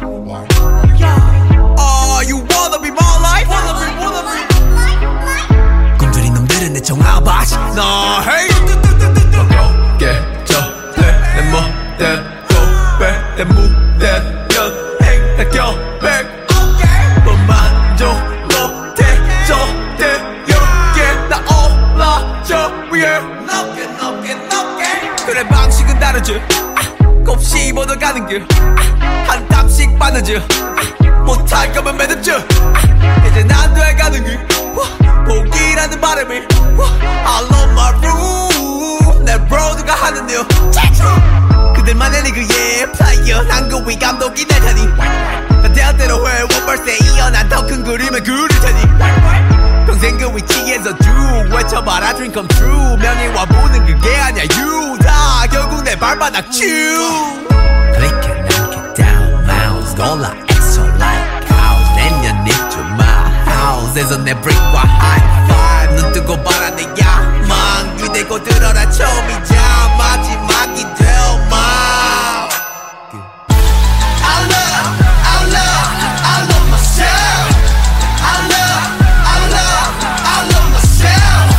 Oh, you wanna be more like 꿈들인 놈들은 내 정화바지 너 hey 내 멋대로 내 무대면 행사겨 만족 못해 저대역에 나 올라저 위에 높게 그래 방식은 다르지 곱씹 얻어가는 길한 땀씩 빠르지 못할 거면 매듭지 이제 난 돼가는 길 포기라는 바람이 I love my room 내 브로드가 하는 일 그들만의 리그의 플레이어 난 그 위 감독이 될 테니 난 대학대로 해 원벌스에 이어 난 더 큰 그림을 그릴 테니 평생 그 위치에서 쭉 외쳐봐라 dream come true 명예와 부는 그게 아니야 you 다 결국 내 발바닥 쭉 Click and knock it down mouse 놀라 extra like house 내년 입주 my house에서 내 brick과 high five 눈 뜨고 봐라 내 야망 기대고 들어라 처음이자 마지막이 될마
I love myself. I love myself.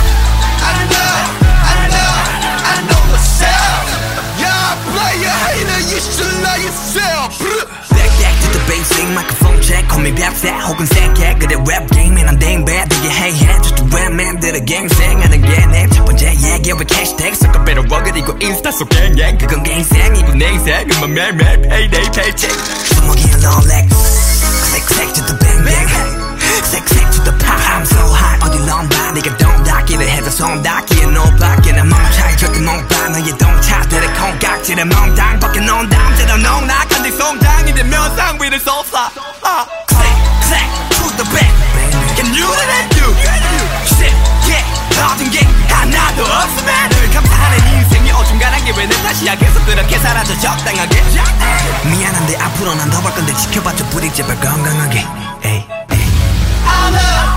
I know myself.
Yeah, player hater, you should love yourself.
Back to the basic microphone check call me 벽세 혹은 생개 그래 랩 게임에 난 댕배 되게 해해 just 랩맨들의 갱생하는 게 내 첫 번째 얘기 왜 캐시택 섞어 빼러 그리고 인스타 속 갱갱 그건 내 인생이고 내 인생은 매일매일 payday paycheck 주먹이는 놀래 click to the bang bang click to the pop I'm so hot 어딜 넌봐 네가 동 닫기를 해도 손 닫기에 노밖에 난 맘 차이 절대 못 봐 너의 동차들의 콩깍지를 멍당 벗겨 놓은 다음대로 농락한 뒤 송장이 되면 상 위를 쏟아 click to the bang Can you and you shit yeah 모든 게 하나도 없으면 늘 감사하는 인생이 어중간한 게 왜 내 탓이야 계속 그렇게 살아도 적당하게 미안한데 앞으로 난 더 볼 건데 지켜봐줘 부디 제발 건강하게 에이
I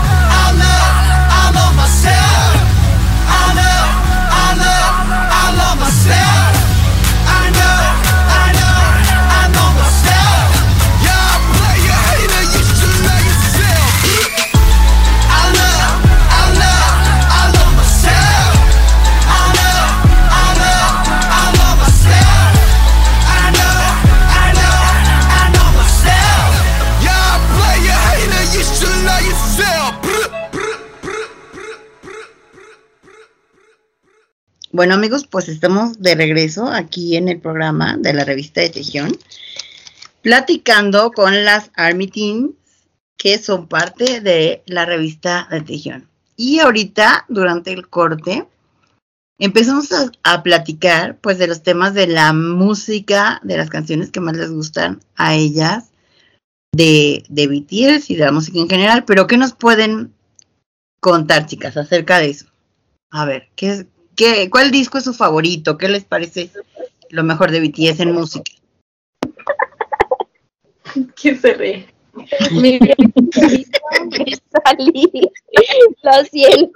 love myself. I love myself. I know myself.
Yeah, player hater, you should love yourself.
I love myself. I love myself. I know myself.
Yeah, player hater, you should love yourself.
Bueno amigos, pues estamos de regreso aquí en el programa de la revista de Tejión, platicando con las Army Teens que son parte de la revista de Tejión. Y ahorita, durante el corte, empezamos a platicar pues de los temas de la música, de las canciones que más les gustan a ellas, de BTS y de la música en general. Pero ¿qué nos pueden contar, chicas, acerca de eso? A ver, ¿cuál disco es su favorito? ¿Qué les parece lo mejor de BTS en música?
¿Quién se ríe?
Me salí. Lo siento.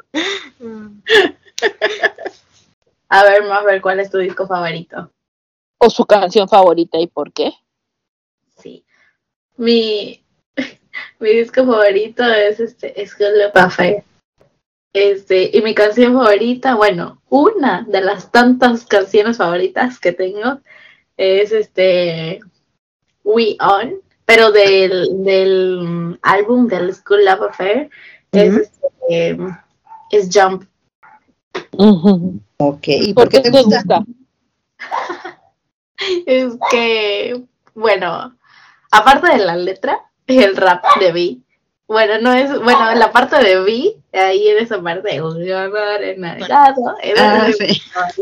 A ver, ¿cuál es tu disco favorito?
¿O su canción favorita y por qué?
Sí. Mi disco favorito es School of Affair. Y mi canción favorita, bueno, una de las tantas canciones favoritas que tengo es We On, pero del álbum del School Love Affair es Jump.
Ok, ¿y
¿Por
por qué
qué
te gusta?
Es que, bueno, aparte de la letra, el rap de Vi. Bueno, no es, bueno, la parte de Vi, ahí en esa parte, un amor enamorado,
Sí.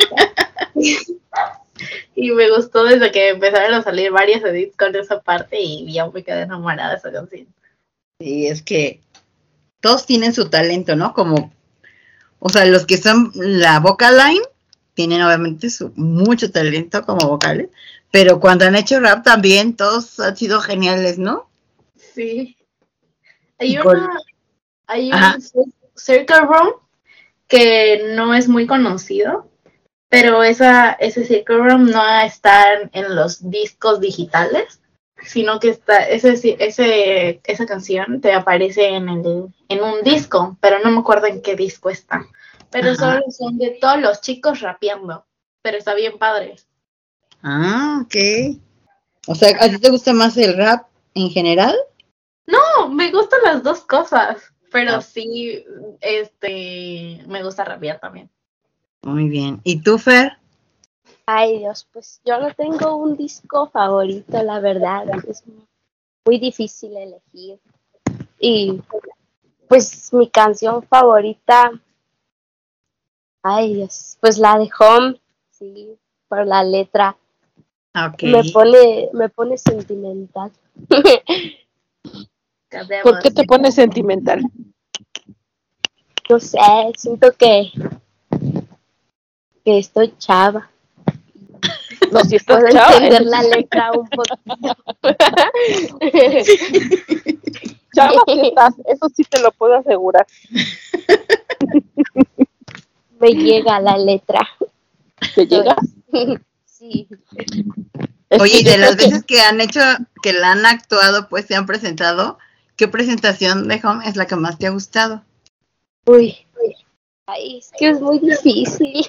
y me gustó desde que empezaron a salir varias edits con esa parte y ya me quedé enamorada de esa canción.
Sí, es que todos tienen su talento, ¿no? Como, o sea, los que son la vocal line tienen obviamente mucho talento como vocales, pero cuando han hecho rap también todos han sido geniales, ¿no?
Sí. Hay
Ajá.
un Circle Room que no es muy conocido, pero ese Circle Room no está en los discos digitales, sino que esa canción te aparece en un disco, pero no me acuerdo en qué disco está. Pero
Ajá.
son de todos los chicos rapeando, pero está bien padre.
Ah, ok. O sea, ¿a ti te gusta más el rap en general?
No, me gustan las dos cosas, pero
Ah.
sí, me gusta rapear también.
Muy bien. ¿Y tú, Fer?
Ay, Dios, pues yo no tengo un disco favorito, la verdad. Es muy difícil elegir. Y pues mi canción favorita, ay, Dios, pues la de Home, sí, por la letra.
Ok.
Me pone sentimental.
¿Por qué te pones sentimental?
No sé, siento que estoy chava.
No, si estás
Puedo
chava,
entender
entonces-
la letra un poquito.
chava sí estás, eso sí te lo puedo asegurar.
Me llega la letra.
¿Te llega?
Sí.
Oye, y
Yo
de
creo
las veces que han hecho, que la han actuado, pues se han presentado, ¿qué presentación de Home es la que más te ha gustado?
Uy. Ay, es que es muy difícil.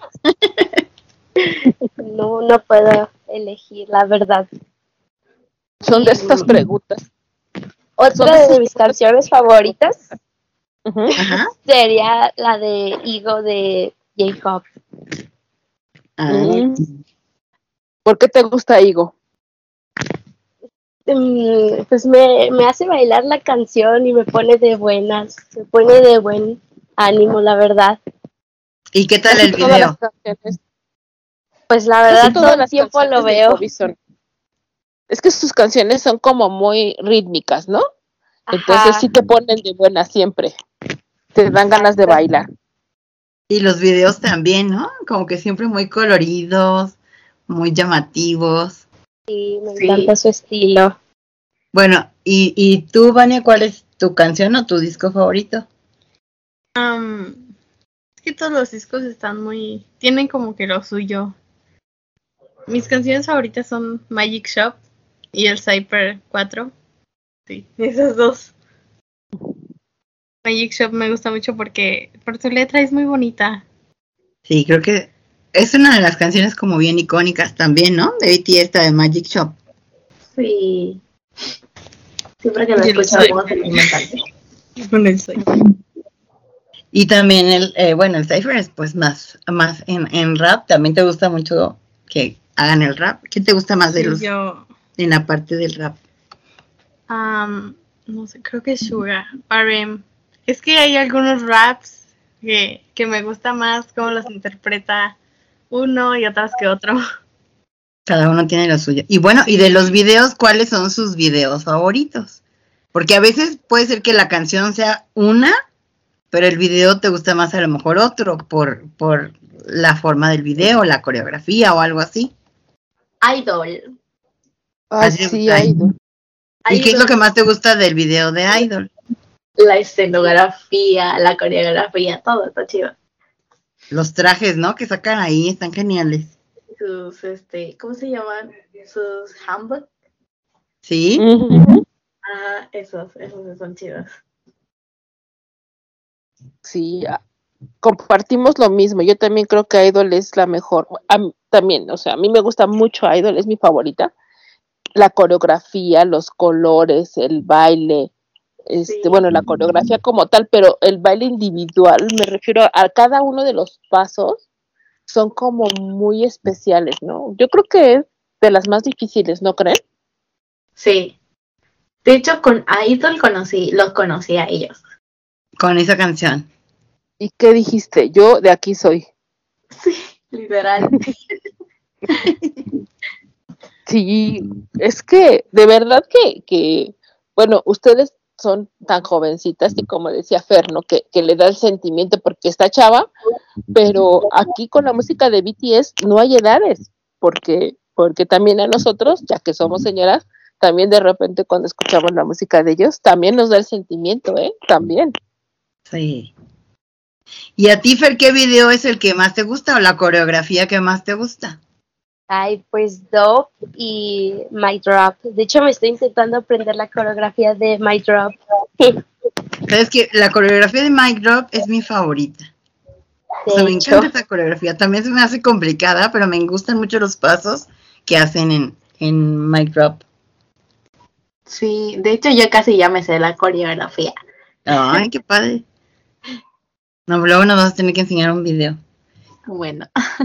No puedo elegir, la verdad.
son de estas preguntas.
Otra de mis canciones favoritas
Ujú.
Ajá.
sería la de Ego de J-Hop.
Ah,
Mm. ¿Por qué te gusta Igo?
Pues me hace bailar la canción y me pone de buenas, me pone de buen ánimo, la verdad.
¿Y qué tal
Casi
el
todas las
video?
canciones,
Pues la
casi
verdad todo
todas
el
las
tiempo lo
canciones de
veo.
Kobe son. Es que sus canciones son como muy rítmicas, ¿no? Entonces
Ajá.
sí te ponen de buena siempre. Te dan ganas de bailar.
Y los videos también, ¿no? Como que siempre muy coloridos, muy llamativos.
Sí, me encanta su estilo.
Bueno, y tú, Vania, ¿cuál es tu canción o tu disco favorito?
Es que todos los discos tienen como que lo suyo. Mis canciones favoritas son Magic Shop y el Cypher 4. Sí, esas dos. Magic Shop me gusta mucho porque por su letra es muy bonita.
Sí, creo que es una de las canciones como bien icónicas también, ¿no? De BTS, esta de Magic Shop.
Sí. Siempre que la
Y el
escucho
Cypher.
como sentimental.
Con el Cypher.
Y también el Cypher es pues más en rap, también te gusta mucho que hagan el rap. ¿Qué te gusta más de
Sí,
los en la parte del rap?
no sé, creo que Suga, RM. Es que hay algunos raps que me gusta más cómo los interpreta uno y otras que otro.
Cada uno tiene lo suyo. Y bueno, y de los videos, ¿cuáles son sus videos favoritos? Porque a veces puede ser que la canción sea una, pero el video te gusta más a lo mejor otro por la forma del video, la coreografía o algo así.
Idol.
Ay,
Así te
sí,
gusta.
Idol.
¿Y qué es lo que más te gusta del video de Idol?
La escenografía, la coreografía, todo está chido.
Los trajes, ¿no? Que sacan ahí, están geniales.
Sus, ¿cómo se llaman? Sus handbook.
¿Sí?
Ujú.
Ajá, esos son chidos.
Sí, compartimos lo mismo. Yo también creo que Idol es la mejor. También, o sea, a mí me gusta mucho Idol, es mi favorita. la coreografía, los colores, el baile,
Sí.
bueno, la coreografía como tal, pero el baile individual, me refiero a cada uno de los pasos, son como muy especiales, ¿no? Yo creo que es de las más difíciles, ¿no creen?
Sí. De hecho, con Idol los conocí a ellos.
Con esa canción.
¿Y qué dijiste? Yo de aquí soy.
Sí, literal.
Sí, es que de verdad que bueno, ustedes son tan jovencitas y como decía Fer, ¿no? Que le da el sentimiento porque está chava, pero aquí con la música de BTS no hay edades, porque también a nosotros, ya que somos señoras, también de repente cuando escuchamos la música de ellos, también nos da el sentimiento, también.
Sí. ¿Y a ti, Fer, qué video es el que más te gusta o la coreografía que más te gusta?
Ay, pues Dope y My Drop. De hecho, me estoy intentando aprender la coreografía de My Drop.
Sabes que la coreografía de Mic Drop es mi favorita. O sea,
De
me
hecho,
encanta esa coreografía. También se me hace complicada, pero me gustan mucho los pasos que hacen en Mic Drop.
Sí, de hecho yo casi ya me sé la coreografía.
Ay, qué padre. No, luego nos vas a tener que enseñar un video.
Bueno,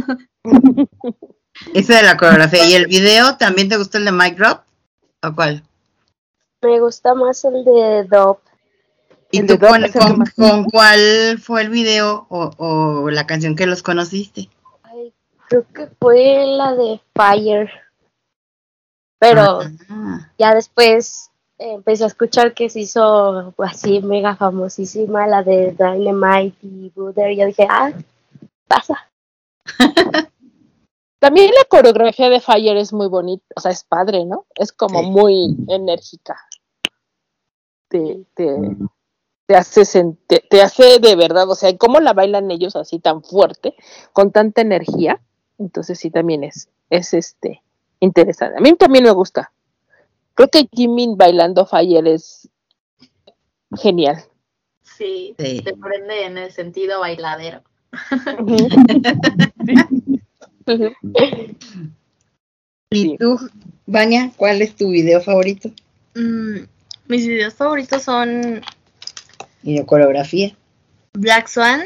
Ese de la coreografía. ¿Y el video también te gustó el de Mic Drop? ¿O cuál?
me gusta más el de Dope.
¿Y
El
tú
de Drop es el que más-
con cuál fue el video o la canción que los conociste?
Ay, creo que fue la de Fire. Pero
Ah,
ya después empecé a escuchar que se hizo así mega famosísima la de Dynamite y Butter. Y yo dije, pasa.
También la coreografía de Fire es muy bonita, o sea, es padre, ¿no? Es como
Sí.
muy enérgica. Te hace de verdad, o sea, cómo la bailan ellos así tan fuerte, con tanta energía. Entonces sí también es interesante. A mí también me gusta. Creo que Jimin bailando Fire es genial.
sí,
Sí.
te prende en el sentido bailadero.
¿Y
Sí.
tú, Vania, cuál es tu video favorito?
Mis videos favoritos son
Y de coreografía.
Black Swan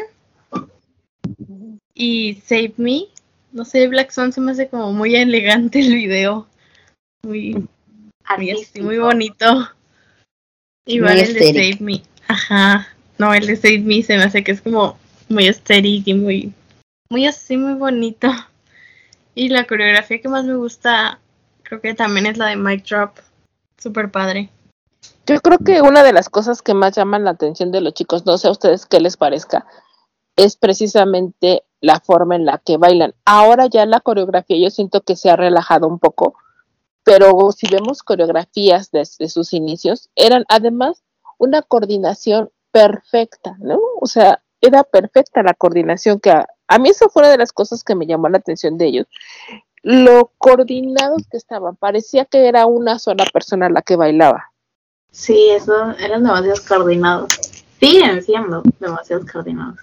y Save Me. No sé, Black Swan se me hace como muy elegante el video. Muy
Artístico.
muy bonito. Igual
Muy
el de
aesthetic.
Save Me. Ajá. No, el de Save Me se me hace que es como muy aesthetic y muy así, muy bonito. Y la coreografía que más me gusta, creo que también es la de Mic Drop. Súper padre.
Yo creo que una de las cosas que más llaman la atención de los chicos, no sé a ustedes qué les parezca, es precisamente la forma en la que bailan. Ahora ya la coreografía yo siento que se ha relajado un poco, pero si vemos coreografías desde sus inicios, eran además una coordinación perfecta, ¿no? O sea, era perfecta la coordinación que a mí eso fue una de las cosas que me llamó la atención de ellos. Lo coordinados que estaban, parecía que era una sola persona la que bailaba.
Sí, eso eran demasiados coordinados. Siguen siendo demasiados coordinados.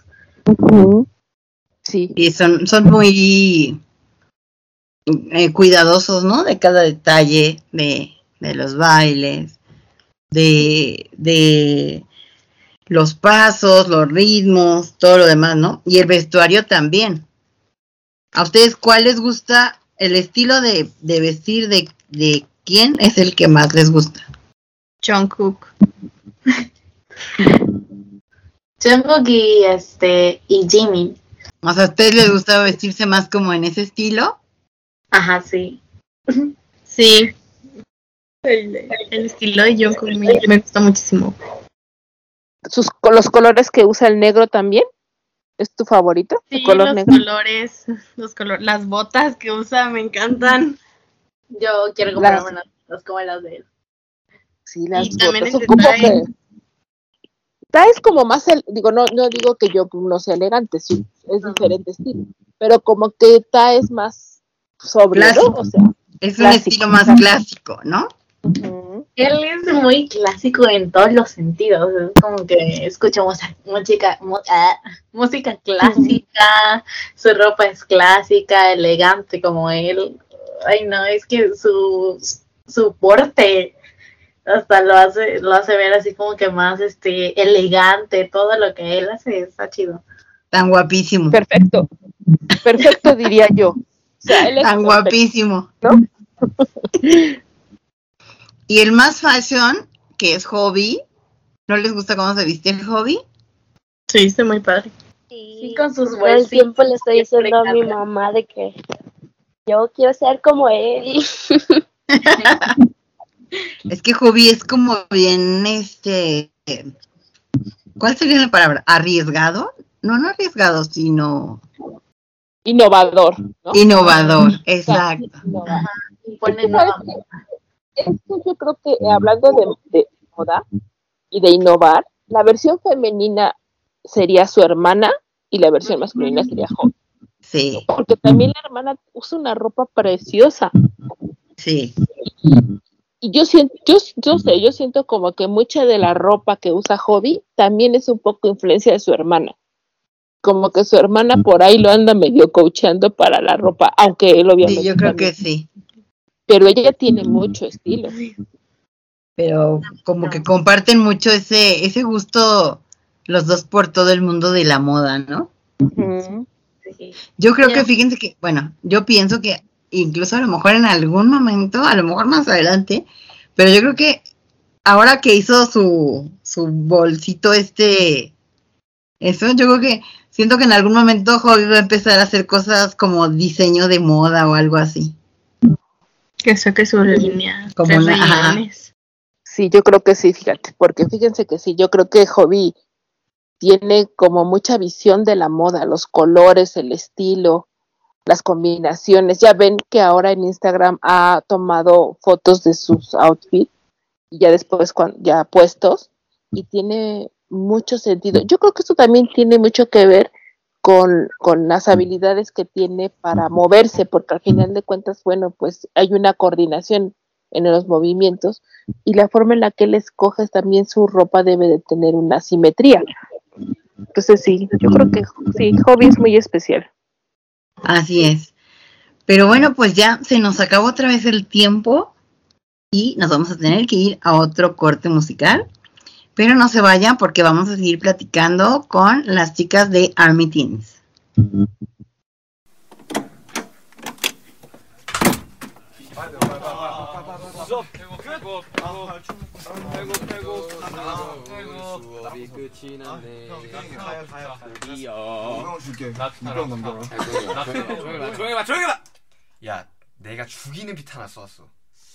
Sí.
Y son muy cuidadosos, ¿no? De cada detalle de los bailes, de los pasos, los ritmos, todo lo demás, ¿no? Y el vestuario también. ¿A ustedes cuál les gusta? El estilo de vestir de quién es el que más les gusta?
Jungkook.
Jungkook y Jimin.
O sea, ¿a ustedes les gusta vestirse más como en ese estilo?
Ajá, sí.
Sí. El estilo de Jungkook me gusta muchísimo.
Los colores que usa el negro también. ¿Es tu favorito?
Sí,
¿El color
los
negro?
colores, las botas que usa me encantan.
Yo quiero comprarme unas como las de él.
Sí, las
Y también
botas.
el
Ocupo
detalle.
que Ta es como más, no digo que yo no sea elegante, sí, es diferente estilo, pero como que Ta es más sobrio,
Clásico.
¿no? O sea,
Es un
clásico,
estilo más
exacto.
clásico, ¿no?
Ujú.
Él es muy clásico en todos los sentidos. Es como que escuchamos música clásica, su ropa es clásica, elegante como él. Ay, no, es que su porte. Hasta lo hace ver así como que más elegante, todo lo que él hace está chido.
Tan guapísimo.
Perfecto diría yo. O sea, él es
Tan
perfecto,
guapísimo.
¿no?
Y el más fashion, que es Hobby. ¿No les gusta cómo se viste el Hobby?
Sí, está muy padre.
Sí, con sus
Todo el
bolsitas.
tiempo le estoy diciendo a mi
Siempre
mamá de que yo quiero ser como él.
Es que Hobby es como bien, ¿cuál sería la palabra? ¿Arriesgado? No arriesgado, sino
Innovador, ¿no?
innovador, exacto.
Innovador.
Pone
¿Sabes
nueva
qué? Es que yo creo que hablando de moda y de innovar, la versión femenina sería su hermana y la versión masculina sería Hobby.
Sí,
Porque también la hermana usa una ropa preciosa.
sí.
Y yo siento como que mucha de la ropa que usa Hobby también es un poco influencia de su hermana. Como que su hermana por ahí lo anda medio coachando para la ropa, aunque él obviamente
Sí, yo creo
también.
que sí.
Pero ella tiene mucho estilo.
Pero como que comparten mucho ese gusto los dos por todo el mundo de la moda, ¿no?
Ujú.
Sí.
Yo creo que, fíjense que, bueno, yo pienso que incluso a lo mejor en algún momento, a lo mejor más adelante, pero yo creo que ahora que hizo su bolsito eso, yo creo que siento que en algún momento Hobby va a empezar a hacer cosas como diseño de moda o algo así.
Que saque su línea.
Como
de
una- ajá.
reuniones.
Sí, yo creo que sí, fíjate, porque fíjense que sí, yo creo que Hobby tiene como mucha visión de la moda, los colores, el estilo, las combinaciones. Ya ven que ahora en Instagram ha tomado fotos de sus outfits y ya después ya puestos y tiene mucho sentido. Yo creo que esto también tiene mucho que ver con las habilidades que tiene para moverse, porque al final de cuentas, bueno, pues hay una coordinación en los movimientos y la forma en la que él escoge también su ropa debe de tener una simetría. Entonces sí, yo creo que sí, Hobby es muy especial.
Así es. Pero bueno, pues ya se nos acabó otra vez el tiempo y nos vamos a tener que ir a otro corte musical. Pero no se vayan porque vamos a seguir platicando con las chicas de Army Teens.
수업이 끝이 났네.
형 줄게. 이병 넘겨라.
조용히 봐, 조용히 봐. 야, 내가 죽이는 비트 하나 써왔어.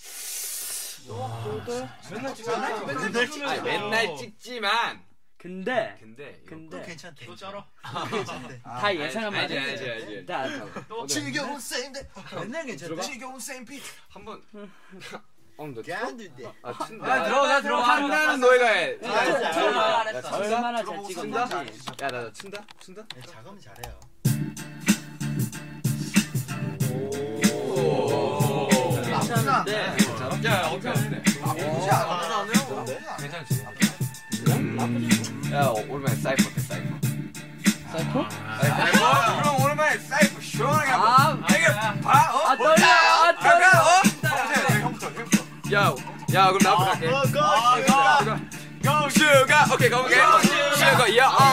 맨날 찍잖아. 아니, 맨날 찍지만. 근데
괜찮대.
또 쩔어.
다 예상하면 알지. 다
지겨운 쌤인데 맨날 괜찮대. 지겨운 쌤 비트.
한번. 너
깐들대.
들어가. 한다는 너희가 해.
얼마나 잘 찍었는지.
야, 나 친다.
작업은 잘해요.
괜찮은데.
야, 어떻게 하는데? 괜찮지. 야, 오랜만에 사이퍼 때 사이퍼.
사이코?
그럼 오랜만에 사이퍼 시원하게 한번. 형부터. 야, 그럼 나부터 갈게. 슈가, 오케이, 가볼게. 슈가,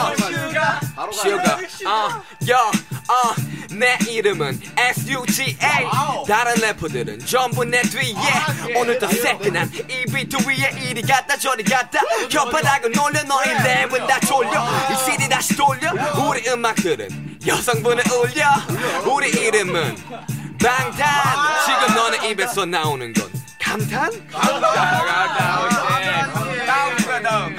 내 이름은 SUGA. 다른 래퍼들은 전부 내 뒤에. 오늘도 새끈한 이 비트 위에 이리 갔다 저리 갔다. 혓바닥을 놀려 너희 랩은 다 졸려. 이 CD 다시 돌려. 우리 음악들은 여성분을 울려. 우리 이름은 방탄. 지금 너네 입에서 나오는 건 감탄? 다음.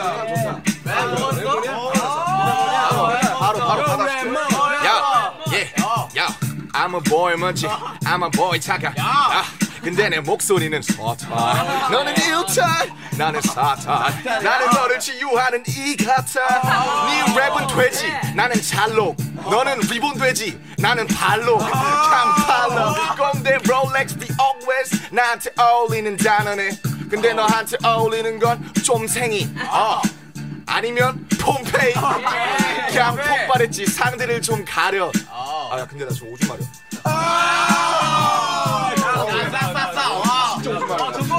바로 받아줄게. 야, I'm a boy 먼지, I'm a boy 착각. 근데 내 목소리는 서탄. 너는 일탄, 나는 사탄. 나는 너를 치유하는 이 같아. 네 랩은 돼지, 나는 잘록. 너는 리본 돼지, 나는 발록. 강팔로 꼰대 롤렉스 the always. 나한테 어울리는 단어네. 근데 너한테 어울리는 건 쫌생이. 아니면 폼페이. 그냥 폭발했지. 상대를 좀 가려. 야, 근데 나 좀 오줌 마려. 진짜 오줌 마려.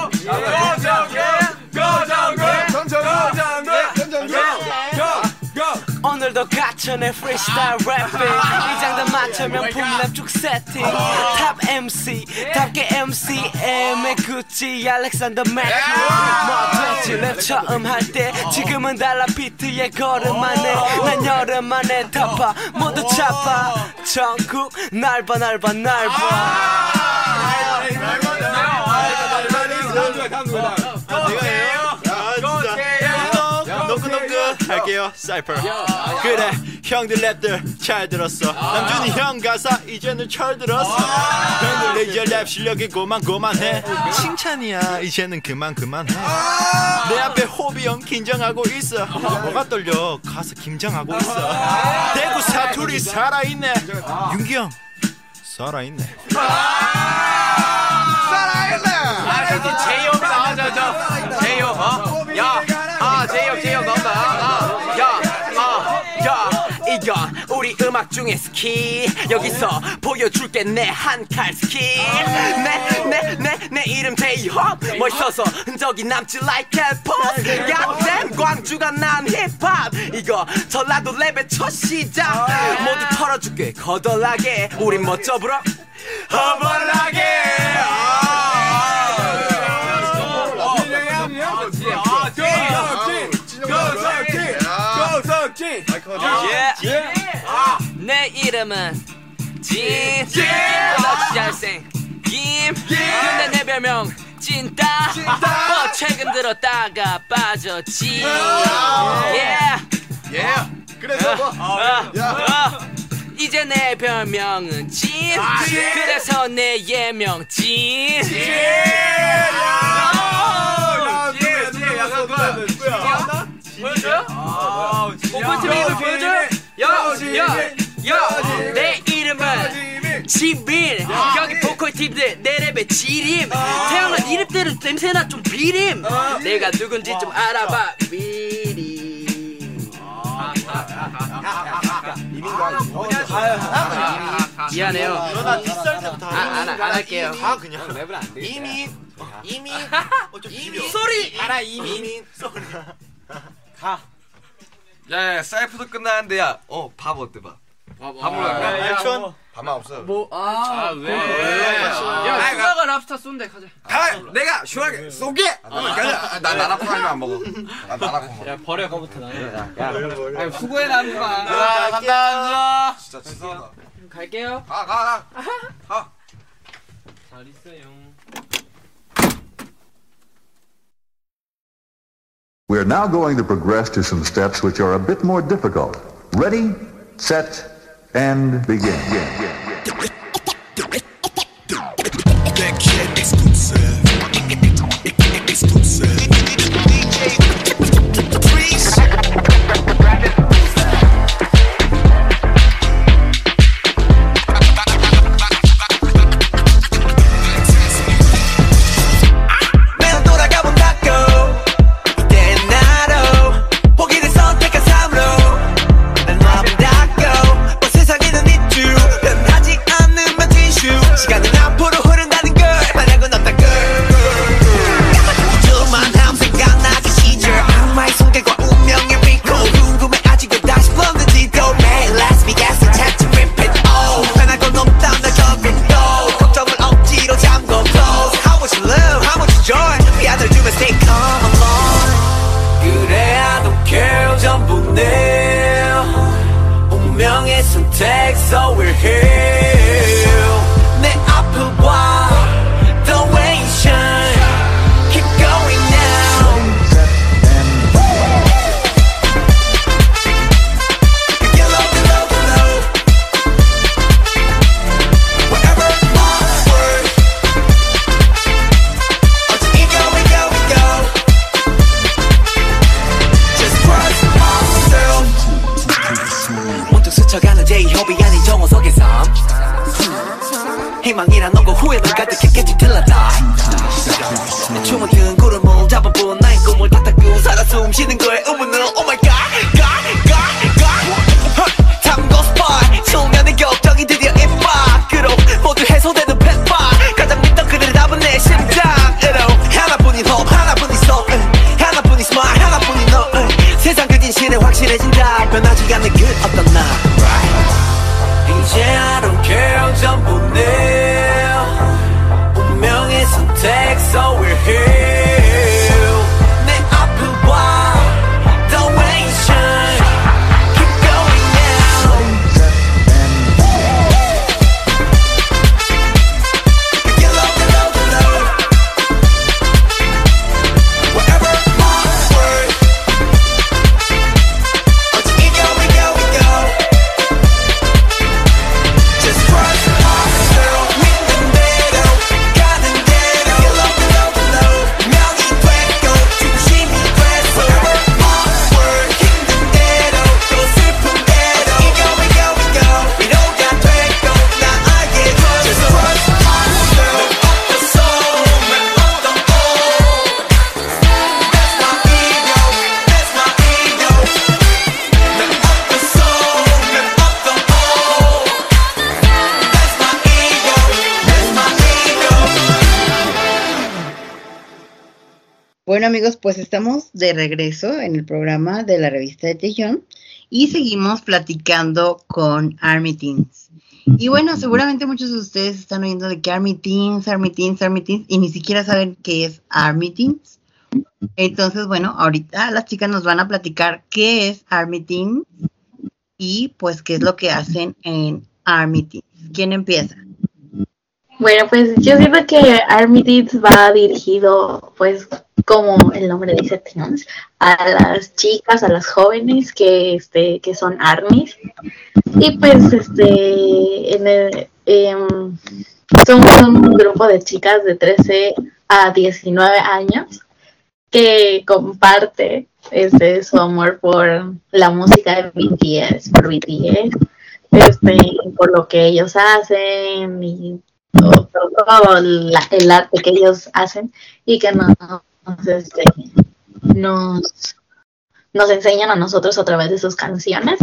오늘도 갇혀 내 프리스타일 래핑 이 장단 맞춰 명품 랩쭉 세팅 탑 MC 답게 MCM의 구찌 알렉산더 맥퀸 뭐 됐지 랩 처음 할 때 지금은 달라 비트에 걸음만해 난 여름 만에 타파 모두 차파 전국 날봐 날봐 날봐
할게요 사이퍼 그래 형들 랩들 잘 들었어 남준이 형 가사 이제는 철 들었어 형들 이제 랩 실력이 고만해 칭찬이야 이제는 그만해 내 앞에 호비 형 긴장하고 있어 뭐가 떨려 가서 긴장하고 있어 대구 사투리 살아있네 윤기 형 살아있네
제이홉이 나오죠 제이홉 제이홉 나온다 이건 우리 음악 중에 스킬 여기서 보여줄게 내 한 칼 스킬 내 이름 제이홉 멋있어서 흔적이 남지 like 헬포스 야댐 광주가 난 힙합 이거 전라도 랩의 첫 시작 모두 털어줄게 거덜나게 우린 멋져 불어 허벌나게
내 이름은 럭시 잘생 근데 내 별명 찐따 최근 들었다가 빠졌지
그래서
이제 내 별명은 찐 그래서 내 예명 찐 보여줘요? 오픈TV 입을 보여줘요? 내 이름은 지빈 여기 보컬 팀들 내 랩의 지림 태어난 이름대로 냄새나 좀 비림 내가 누군지 좀 알아봐 미리 미안해요
나 뒷살 때부터
안 할게요
그냥 랩을 안 돼 이민
소리
알아 이민 가 야, 사이프도 끝나는데 야, 밥 어때 밥? 밥으로 갈까?
밥만 없어
왜? 야, 수다가 랍스타 쏜대 가자.
내가 시원하게 쏘게. 가자. 나 나라콩 아니면 안 먹어. 나 나라콩 먹어.
야, 버려 거부터 나는. 야, 수고해 남주가.
간다. 진짜 죄송하다.
갈게요.
가.
잘 있어요.
We are now going to progress to some steps which are a bit more difficult. Ready, set, and begin.
So we're here. 내 앞을 봐, the way you shine. Keep going now. Below. Wherever onward. Until we go. Just cross myself. 문득 스쳐가는 제이홉이 아닌 정원석의 삶 희망이란 놈과 후회는 가득했게 뒤틀렸다 내 춤은 든 구름을 잡아본 나의 꿈을 다 닦고 살아 숨 쉬는 거에 의문은 Oh my god 탐구 스팟 소년의 격정이 드디어 입밖으로 모두 해소되는 펫파 가장 믿던 그들의 답은 내 심장으로 하나뿐인 hope 하나뿐인 soul 하나뿐인 smile 하나뿐인 너 세상 그지
진실에 확실해진다 변하지 않는 그 어떤 나 이제 I don't care 전부 내 운명의 선택 so we're here 내 앞을 봐 the way you shine keep going now get low, get low, get low wherever my word 어디 we go, we go, we go just trust myself 믿는 대로 가는 대로 get low, get low, get low 명이 되고 중심이 돼서 wherever my word 힘든 대로 또 슬픈 대로 어디 we go, we go, we go 위로가 되고 나 알게 돼 just trust myself up the soul man up the all that's my ego that's my ego man up the soul man up the all that's my ego that's my ego
Bueno amigos, pues estamos de regreso en el programa de la revista de Tejión y seguimos platicando con Army Teens. Y bueno, seguramente muchos de ustedes están oyendo de que Army Teens, Army Teens, Army Teens y ni siquiera saben qué es Army Teens. Entonces, bueno, ahorita las chicas nos van a platicar qué es Army Teens y pues qué es lo que hacen en Army Teens. ¿Quién empieza?
Bueno, pues yo siento que Army Teens va dirigido, pues, como el nombre dice, teens, a las chicas, a las jóvenes que son armies. Y pues, somos un grupo de chicas de 13 a 19 años que comparte su amor por la música de BTS, por lo que ellos hacen y todo el arte que ellos hacen y que nos enseñan a nosotros a través de sus canciones.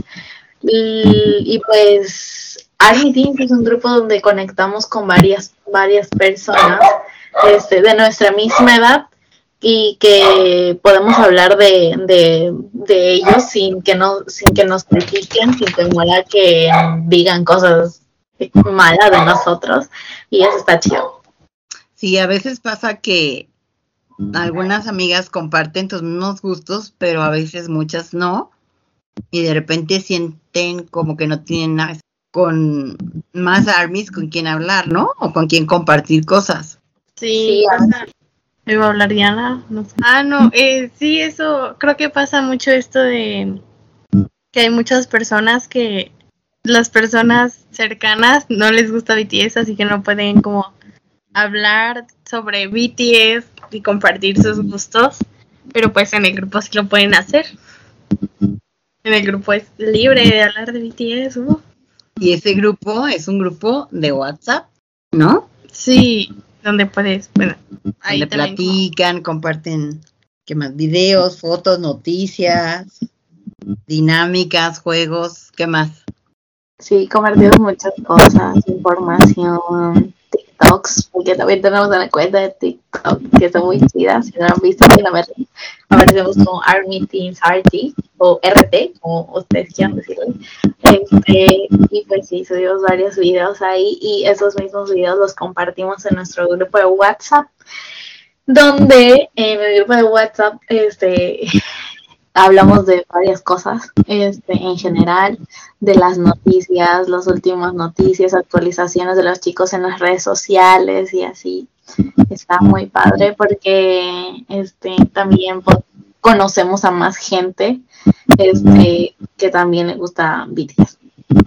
Y pues Army Teens es un grupo donde conectamos con varias personas de nuestra misma edad y que podemos hablar de ellos sin que nos critiquen, sin temor a que digan cosas malas de nosotros, y eso está chido.
Sí, a veces pasa que algunas amigas comparten tus mismos gustos, pero a veces muchas no, y de repente sienten como que no tienen nada con más armies con quien hablar, ¿no? O con quien compartir cosas.
Sí, pasa. ¿Iba a hablar Diana? No sé. Sí, eso, creo que pasa mucho esto de que hay muchas personas que las personas cercanas no les gusta BTS, así que no pueden como hablar sobre BTS y compartir sus gustos, pero pues en el grupo sí lo pueden hacer. En el grupo es libre de hablar de BTS.
Y ese grupo es un grupo de WhatsApp, ¿no?
Sí, donde puedes, bueno, ahí
donde platican, comparten, ¿qué más? Videos, fotos, noticias, dinámicas, juegos, ¿qué más?
Sí, compartimos muchas cosas, información, TikToks, porque también tenemos una cuenta de TikTok que está muy chida. Si no lo han visto, aparecemos como Army Teens RT o RT, como ustedes quieran decirlo. Y pues sí, subimos varios videos ahí y esos mismos videos los compartimos en nuestro grupo de WhatsApp, donde en el grupo de WhatsApp hablamos de varias cosas, en general, de las noticias, las últimas noticias, actualizaciones de los chicos en las redes sociales y así. Está muy padre porque también conocemos a más gente que también le gusta BTS.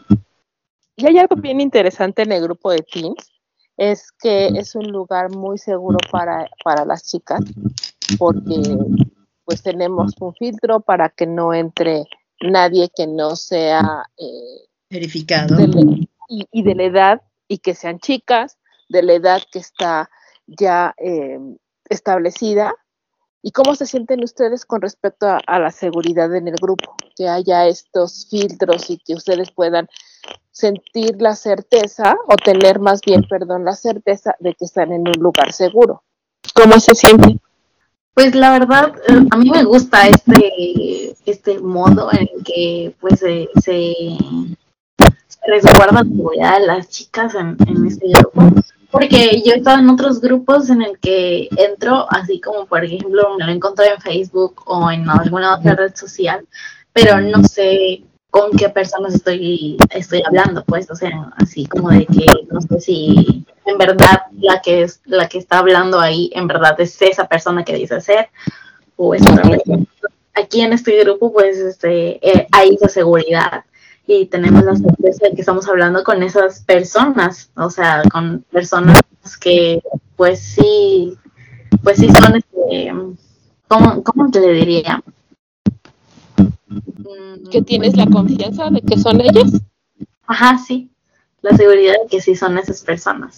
Y hay algo bien interesante en el grupo de teens, es que es un lugar muy seguro para las chicas, porque pues tenemos un filtro para que no entre nadie que no sea
verificado
y de la edad, y que sean chicas de la edad que está ya establecida. ¿Y cómo se sienten ustedes con respecto a la seguridad en el grupo? Que haya estos filtros y que ustedes puedan sentir la certeza, o tener más bien, la certeza de que están en un lugar seguro. ¿Cómo se sienten?
Pues la verdad, a mí me gusta este modo en el que pues se resguarda la seguridad de las chicas en este grupo. Porque yo he estado en otros grupos en el que entro, así como por ejemplo me lo he encontrado en Facebook o en alguna otra red social, pero no sé con qué personas estoy hablando, pues, o sea, así como de que no sé si en verdad la que está hablando ahí en verdad es esa persona que dice ser o es otra persona. Aquí en este grupo pues hay esa seguridad y tenemos la certeza de que estamos hablando con esas personas, o sea, con personas que pues sí son ¿cómo te le diría?
¿Que tienes la confianza de que son ellas?
Ajá, sí, la seguridad de que sí son esas personas.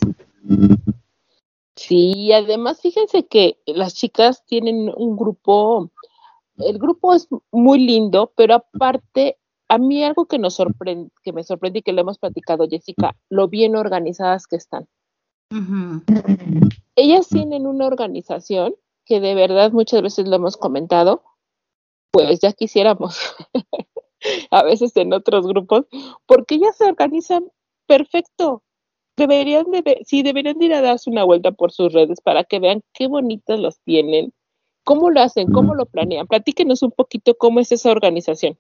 Sí, además fíjense que las chicas tienen un grupo, el grupo es muy lindo, pero aparte, a mí algo que me sorprende y que lo hemos platicado, Jessica, lo bien organizadas que están.
Ujú.
Ellas tienen una organización que de verdad muchas veces lo hemos comentado, pues ya quisiéramos, a veces en otros grupos, porque ellas se organizan perfecto. Deberían de ir a darse una vuelta por sus redes para que vean qué bonitas los tienen, cómo lo hacen, cómo lo planean. Platíquenos un poquito cómo es esa organización.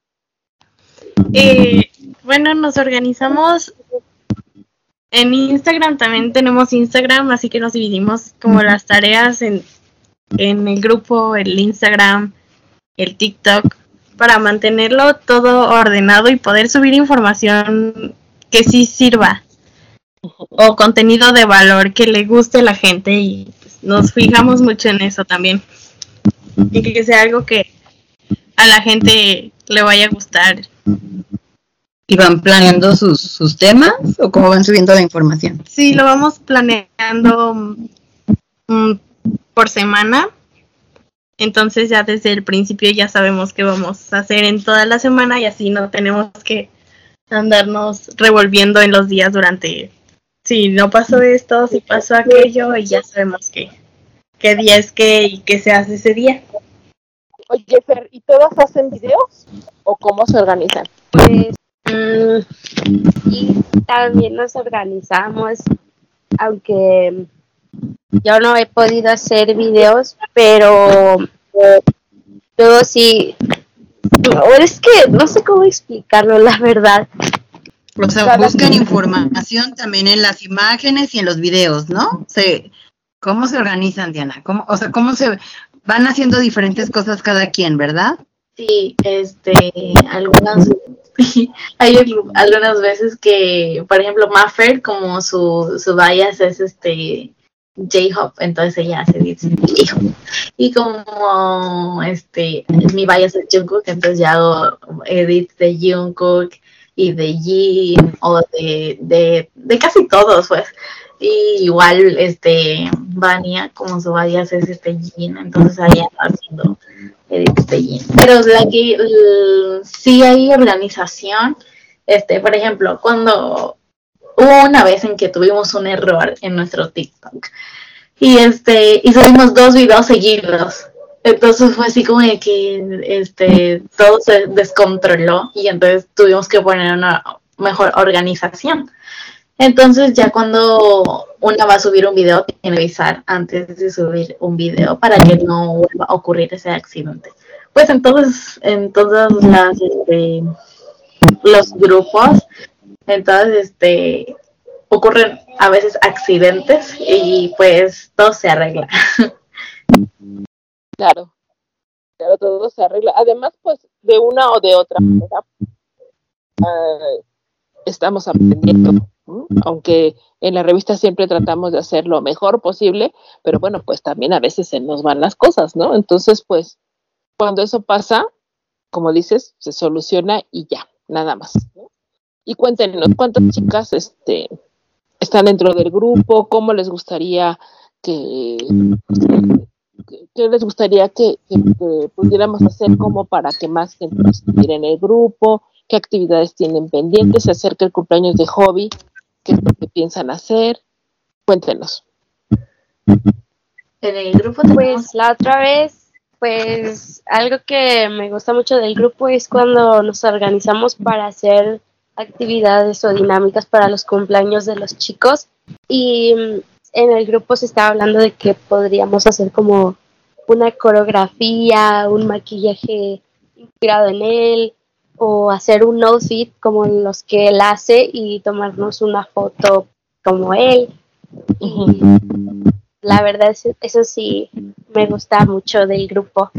Bueno, nos organizamos en Instagram, también tenemos Instagram, así que nos dividimos como las tareas en el grupo, el Instagram, el TikTok, para mantenerlo todo ordenado y poder subir información que sí sirva o contenido de valor que le guste a la gente, y pues, nos fijamos mucho en eso también, y que sea algo que a la gente le vaya a gustar.
¿Y van planeando sus temas o cómo van subiendo la información?
Sí, lo vamos planeando por semana. Entonces ya desde el principio ya sabemos qué vamos a hacer en toda la semana y así no tenemos que andarnos revolviendo en los días durante, si no pasó esto, si pasó aquello, y ya sabemos qué día es qué y qué se hace ese día.
Oye, Fer, ¿y todas hacen videos o cómo se organizan?
Pues y también nos organizamos, aunque yo no he podido hacer videos, pero luego sí, es que no sé cómo explicarlo, la verdad.
O sea, buscan información también en las imágenes y en los videos, ¿no? ¿Cómo se organizan, Diana? ¿Cómo se van haciendo diferentes cosas cada quien, verdad?
Sí, hay algunas veces que, por ejemplo, Maffer, como su bias es J-Hop, entonces ella hace edits de J-Hop. Y como mi bias es Jungkook, entonces ya hago edits de Jungkook y de Jin o de casi todos, pues. Y igual Vania, como su bias es Jin, entonces ahí anda haciendo edits de Jin. Pero sí hay organización. Por ejemplo, cuando hubo una vez en que tuvimos un error en nuestro TikTok y subimos 2 videos seguidos. Entonces fue así como de que todo se descontroló y entonces tuvimos que poner una mejor organización. Entonces ya cuando una va a subir un video, tiene que avisar antes de subir un video para que no vuelva a ocurrir ese accidente. Pues entonces en todas los grupos, entonces ocurren a veces accidentes y pues todo se arregla.
Claro, todo se arregla. Además, pues de una o de otra manera estamos aprendiendo, ¿no? Aunque en la revista siempre tratamos de hacer lo mejor posible, pero bueno, pues también a veces se nos van las cosas, ¿no? Entonces, pues cuando eso pasa, como dices, se soluciona y ya, nada más, ¿no? Y cuéntenos, ¿cuántas chicas están dentro del grupo? ¿Cómo les gustaría que pudiéramos hacer como para que más gente estuviera en el grupo? ¿Qué actividades tienen pendientes? Se acerca el cumpleaños de Hobby, ¿qué es lo que piensan hacer? Cuéntenos.
En el grupo
pues la otra vez Pues algo que me gusta mucho del grupo es cuando nos organizamos para hacer actividades o dinámicas para los cumpleaños de los chicos y en el grupo se estaba hablando de que podríamos hacer como una coreografía, un maquillaje inspirado en él o hacer un outfit como los que él hace y tomarnos una foto como él. Y la verdad, eso sí me gusta mucho del grupo.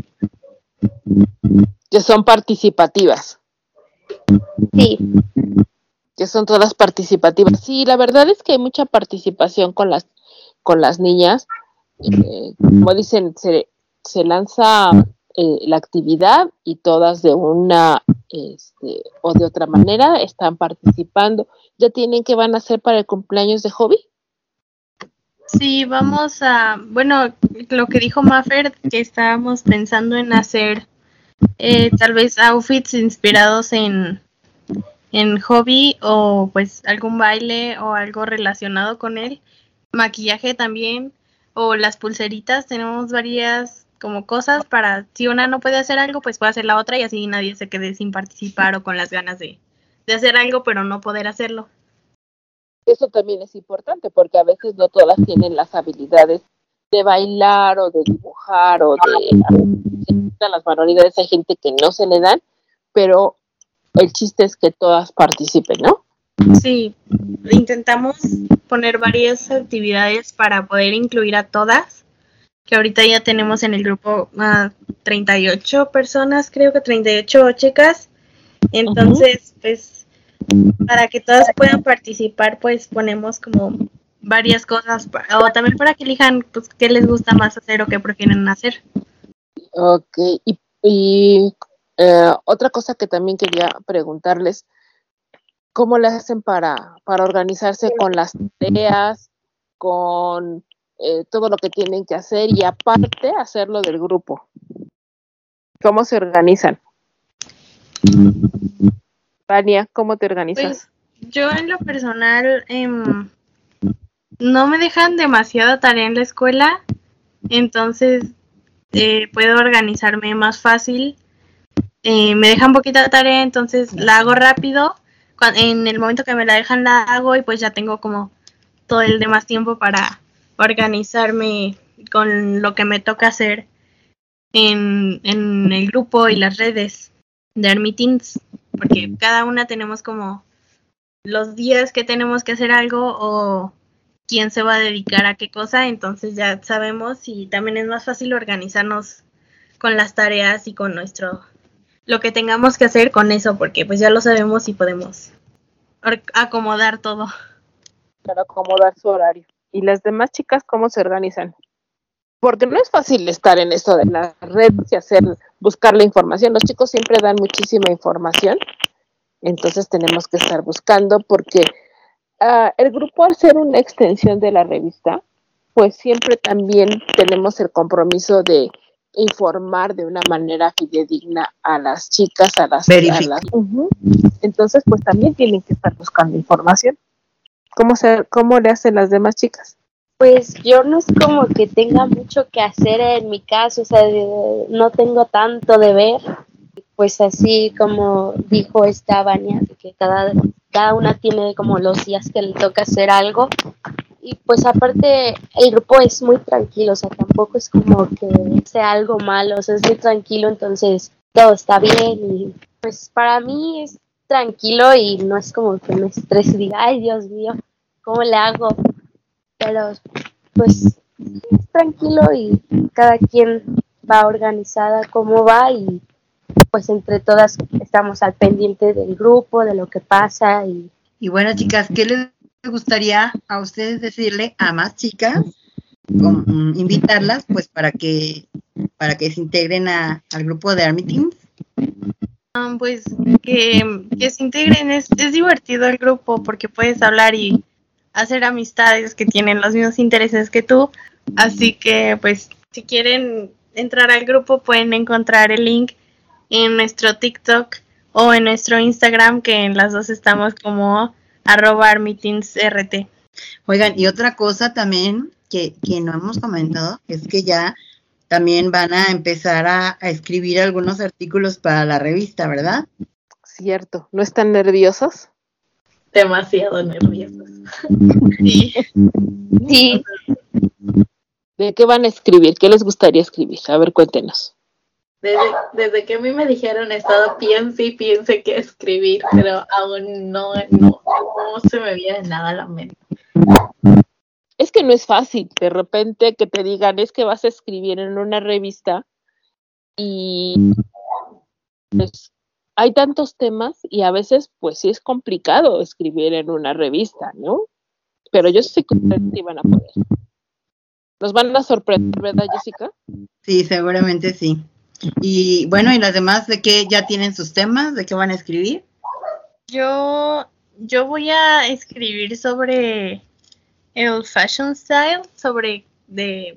Que son participativas.
Sí.
Que son todas participativas. Sí, la verdad es que hay mucha participación con las niñas. Como dicen, se lanza la actividad y todas de una o de otra manera están participando. ¿Ya tienen qué van a hacer para el cumpleaños de Hobby?
Sí, vamos a, bueno, lo que dijo Maffer, que estábamos pensando en hacer tal vez outfits inspirados en Hobby o pues algún baile o algo relacionado con él, maquillaje también o las pulseritas, tenemos varias como cosas para si una no puede hacer algo pues puede hacer la otra y así nadie se quede sin participar o con las ganas de hacer algo pero no poder hacerlo.
Eso también es importante porque a veces no todas tienen las habilidades de bailar o de dibujar o de las manualidades. Hay gente que no se le dan, pero el chiste es que todas participen, ¿no?
Sí, intentamos poner varias actividades para poder incluir a todas, que ahorita ya tenemos en el grupo 38 personas, creo que 38 chicas, entonces pues para que todas puedan participar pues ponemos como varias cosas o también para que elijan pues qué les gusta más hacer o qué prefieren hacer.
Ok, y otra cosa que también quería preguntarles, ¿cómo le hacen para organizarse con las tareas, con todo lo que tienen que hacer y aparte hacerlo del grupo? ¿Cómo se organizan? Vania, ¿cómo te organizas?
Pues yo en lo personal no me dejan demasiada tarea en la escuela, entonces puedo organizarme más fácil. Me dejan poquita tarea, entonces la hago rápido. En el momento que me la dejan la hago y pues ya tengo como todo el demás tiempo para organizarme con lo que me toca hacer en el grupo y las redes de Army Teens, porque cada una tenemos como los días que tenemos que hacer algo o quién se va a dedicar a qué cosa, entonces ya sabemos y también es más fácil organizarnos con las tareas y con lo que tengamos que hacer con eso, porque pues ya lo sabemos y podemos acomodar todo.
Para acomodar su horario. ¿Y las demás chicas cómo se organizan? Porque no es fácil estar en esto de las redes y buscar la información. Los chicos siempre dan muchísima información, entonces tenemos que estar buscando porque el grupo, al ser una extensión de la revista, pues siempre también tenemos el compromiso de informar de una manera fidedigna a las chicas, Entonces, pues también tienen que estar buscando información. ¿Cómo le hacen las demás chicas?
Pues yo no es como que tenga mucho que hacer en mi caso, o sea, no tengo tanto de ver, pues así como dijo esta Vania, que cada una tiene como los días que le toca hacer algo, y pues aparte el grupo es muy tranquilo, o sea, tampoco es como que sea algo malo, o sea, es muy tranquilo, entonces todo está bien, y pues para mí es tranquilo y no es como que me estrese y diga, ay Dios mío, ¿cómo le hago? Pero pues es tranquilo y cada quien va organizada como va y pues entre todas estamos al pendiente del grupo, de lo que pasa.
Y bueno, chicas, ¿qué les gustaría a ustedes decirle a más chicas? Invitarlas pues para que se integren al grupo de Army Teens.
Pues que se integren, es divertido el grupo porque puedes hablar y hacer amistades que tienen los mismos intereses que tú, así que pues si quieren entrar al grupo pueden encontrar el link en nuestro TikTok o en nuestro Instagram, que en las dos estamos como @ArmyTeensRT.
Oigan, y otra cosa también que no hemos comentado es que ya también van a empezar a escribir algunos artículos para la revista, ¿verdad?
Cierto, ¿no están nerviosos?
Demasiado nerviosos.
Sí. Sí. ¿De qué van a escribir? ¿Qué les gustaría escribir? A ver, cuéntenos.
Desde que a mí me dijeron, he estado piense y piense qué escribir, pero aún no se me viene nada a la mente.
Es que no es fácil, de repente que te digan, es que vas a escribir en una revista y pues, hay tantos temas y a veces pues sí es complicado escribir en una revista, ¿no? Pero yo sé que ustedes sí van a poder. Nos van a sorprender, ¿verdad, Jessica?
Sí, seguramente sí. Y bueno, ¿y las demás de qué ya tienen sus temas? ¿De qué van a escribir?
Yo voy a escribir sobre el fashion style, sobre de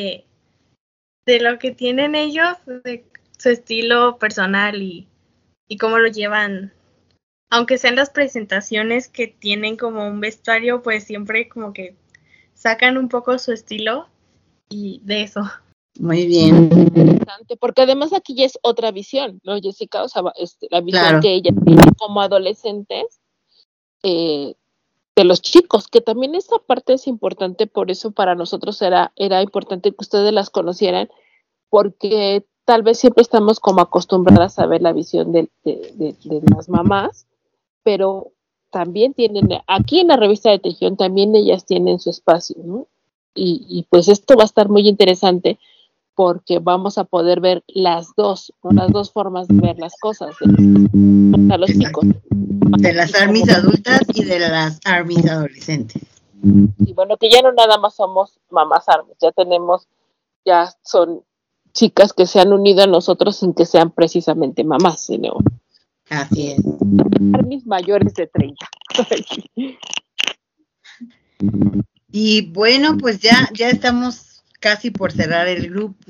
lo que tienen ellos, de su estilo personal y cómo lo llevan. Aunque sean las presentaciones que tienen como un vestuario, pues siempre como que sacan un poco su estilo y de eso.
Muy bien.
Interesante, porque además aquí ya es otra visión, ¿no, Jessica? O sea, la visión
Claro.
que ella tiene como adolescentes de los chicos, que también esa parte es importante, por eso para nosotros era importante que ustedes las conocieran, porque tal vez siempre estamos como acostumbradas a ver la visión de las mamás, pero también tienen, aquí en la revista de Tejión también ellas tienen su espacio, ¿no? Y pues esto va a estar muy interesante porque vamos a poder ver las dos, ¿no? Las dos formas de ver las cosas a los chicos.
De las ARMYs adultas y de las ARMYs adolescentes.
Y bueno, que ya no nada más somos mamás ARMYs, ya son chicas que se han unido a nosotros sin que sean precisamente mamás, sino
así es.
ARMYs mayores de 30.
Y bueno, pues ya estamos casi por cerrar el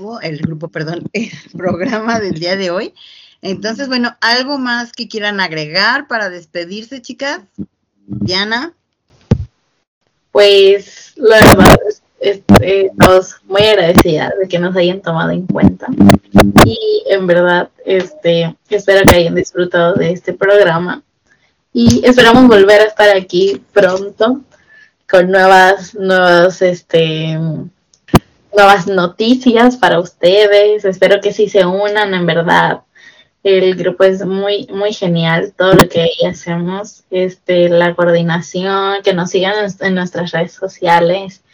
programa del día de hoy. Entonces, bueno, ¿algo más que quieran agregar para despedirse, chicas? Diana.
Pues la verdad, estamos muy agradecidas de que nos hayan tomado en cuenta. Y en verdad, espero que hayan disfrutado de este programa. Y esperamos volver a estar aquí pronto con nuevas noticias para ustedes. Espero que sí se unan, en verdad. El grupo es muy, muy genial, todo lo que ahí hacemos, la coordinación, que nos sigan en nuestras redes sociales.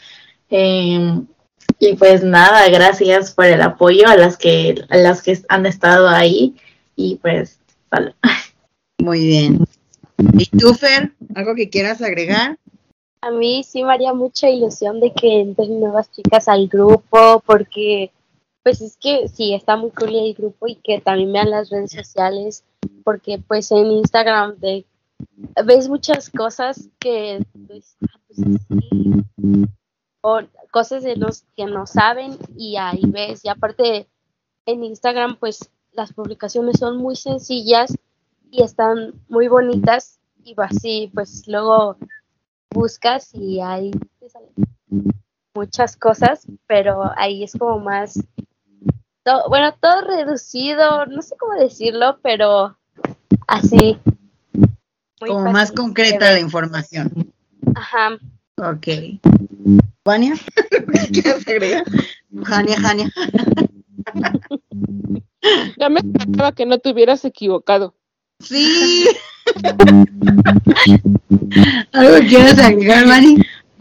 Y pues nada, gracias por el apoyo a las que han estado ahí. Y pues, vale.
Muy bien. ¿Y tú, Fer? ¿Algo que quieras agregar?
A mí sí me haría mucha ilusión de que entren nuevas chicas al grupo, porque pues es que sí, está muy cool el grupo y que también vean las redes sociales, porque pues en Instagram ves muchas cosas que pues, sí, o cosas de los que no saben y ahí ves, y aparte en Instagram pues las publicaciones son muy sencillas y están muy bonitas y así pues luego buscas y ahí te salen muchas cosas, pero ahí es como más todo reducido, no sé cómo decirlo, pero así
como más concreta la información.
Ajá.
Ok. ¿Vania? ¿Quieres agregar? Jania.
Ya me esperaba que no te hubieras equivocado.
Sí. ¿Algo quieres agregar, Vani?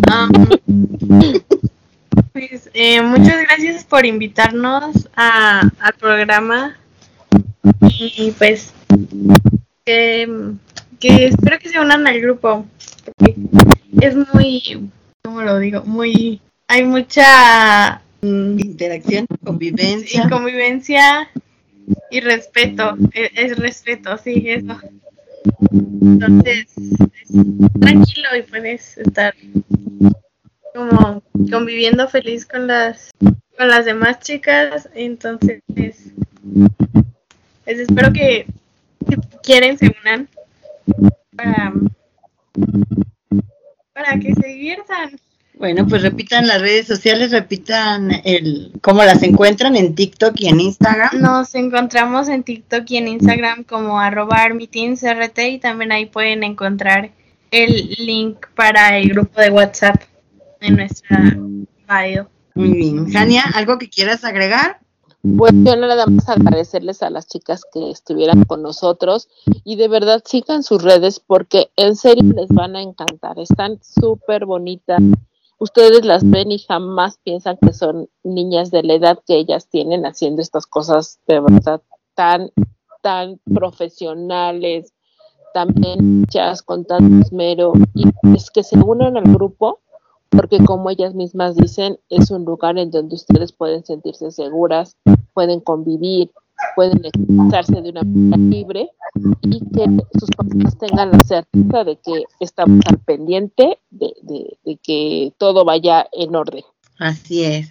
Pues muchas gracias por invitarnos al programa y pues que espero que se unan al grupo, porque es muy, ¿cómo lo digo? Hay mucha
interacción,
convivencia y respeto, es respeto, sí, eso. Entonces, tranquilo y puedes estar como conviviendo feliz con las demás chicas. Entonces pues espero que si quieren se unan para que se diviertan.
Bueno, pues repitan las redes sociales, repitan cómo las encuentran en TikTok y en Instagram.
Nos encontramos en TikTok y en Instagram como @armyteensrt y también ahí pueden encontrar el link para el grupo de WhatsApp en nuestra bio.
Muy bien. Jania, ¿algo que quieras agregar?
Pues yo nada más agradecerles a las chicas que estuvieran con nosotros y de verdad sigan sus redes porque en serio les van a encantar, están súper bonitas. Ustedes las ven y jamás piensan que son niñas de la edad que ellas tienen haciendo estas cosas de verdad tan profesionales, también hechas con tanto esmero, y es que se unan al grupo porque como ellas mismas dicen, es un lugar en donde ustedes pueden sentirse seguras, pueden convivir, pueden expresarse de una manera libre y que sus papás tengan la certeza de que estamos al pendiente de que todo vaya en orden.
Así es.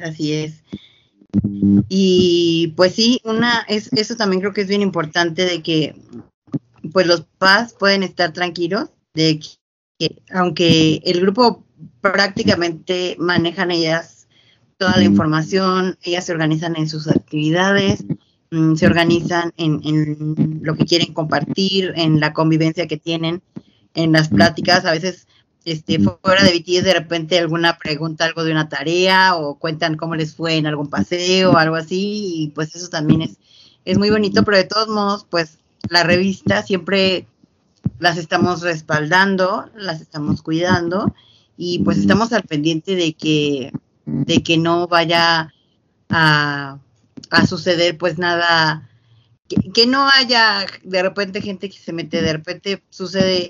Y pues sí, eso también creo que es bien importante de que pues los papás pueden estar tranquilos de que aunque el grupo prácticamente manejan ellas toda la información, ellas se organizan en sus actividades, se organizan en lo que quieren compartir, en la convivencia que tienen, en las pláticas, a veces fuera de BTS de repente alguna pregunta, algo de una tarea o cuentan cómo les fue en algún paseo o algo así y pues eso también es muy bonito, pero de todos modos pues la revista siempre las estamos respaldando, las estamos cuidando y pues estamos al pendiente de que no vaya a suceder pues nada, que no haya de repente gente que se mete, de repente sucede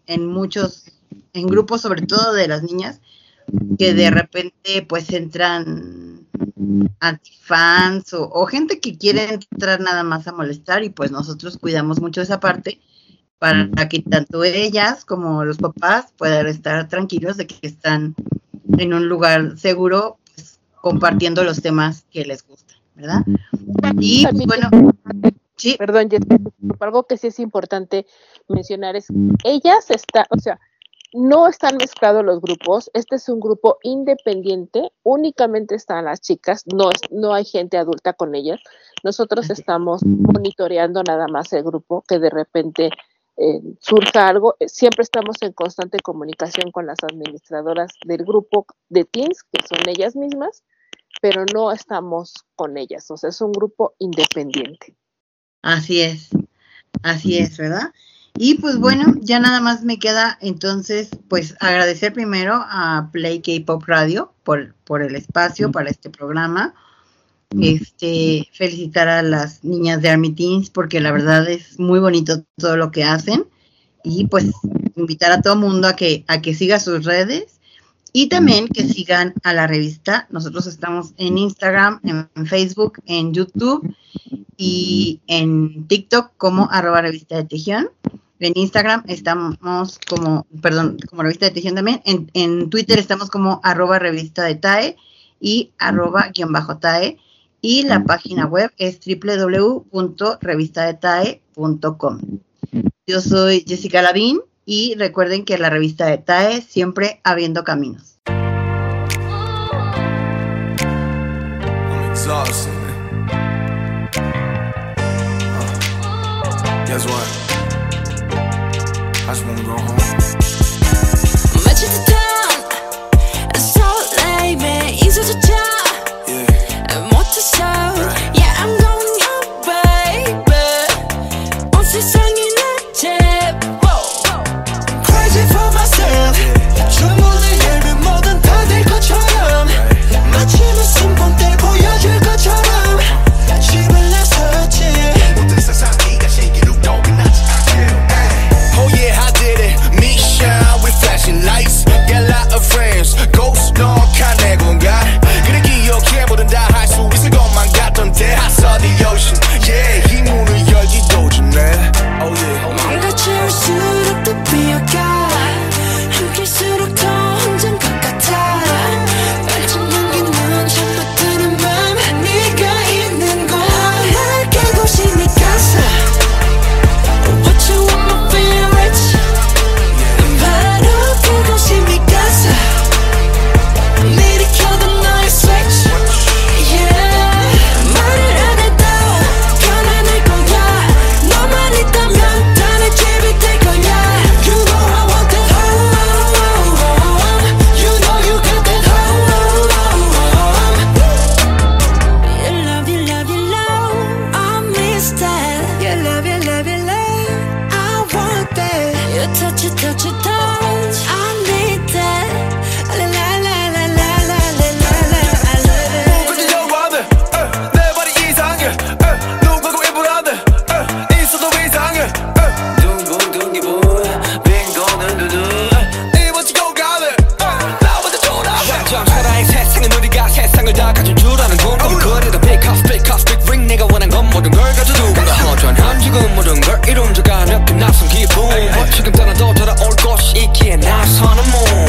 en grupos, sobre todo de las niñas, que de repente pues entran antifans o gente que quiere entrar nada más a molestar y pues nosotros cuidamos mucho esa parte para que tanto ellas como los papás puedan estar tranquilos de que están en un lugar seguro pues, compartiendo los temas que les gustan, ¿verdad? Y bueno, sí.
Perdón, Jessica, algo que sí es importante mencionar es ellas no están mezclados los grupos, este es un grupo independiente, únicamente están las chicas, no hay gente adulta con ellas, nosotros estamos monitoreando nada más el grupo, que de repente surja algo, siempre estamos en constante comunicación con las administradoras del grupo de teens, que son ellas mismas, pero no estamos con ellas, o sea, es un grupo independiente.
Así es, ¿verdad? Y pues bueno, ya nada más me queda entonces pues agradecer primero a Play K-Pop Radio por el espacio para este programa, felicitar a las niñas de Army Teens porque la verdad es muy bonito todo lo que hacen y pues invitar a todo mundo a que siga sus redes y también que sigan a la revista. Nosotros estamos en Instagram, en Facebook, en YouTube y en TikTok como @revista de Tejión. En Instagram estamos como revista de Tejión también. En Twitter estamos como @revista de TAE y @_TAE. Y la página web es www.revistadetae.com. Yo soy Jessica Lavín y recuerden que la revista de TAE siempre abriendo caminos.
I'm exhausted, man. Guess what? I just wanna go home.
Lights, get a lot of friends, ghost dog, kind of gon' got.
결국은 모든 걸 이룬다가 느낀 낯선 기분 지금 떠나도 돌아올 곳이 있기에 나서는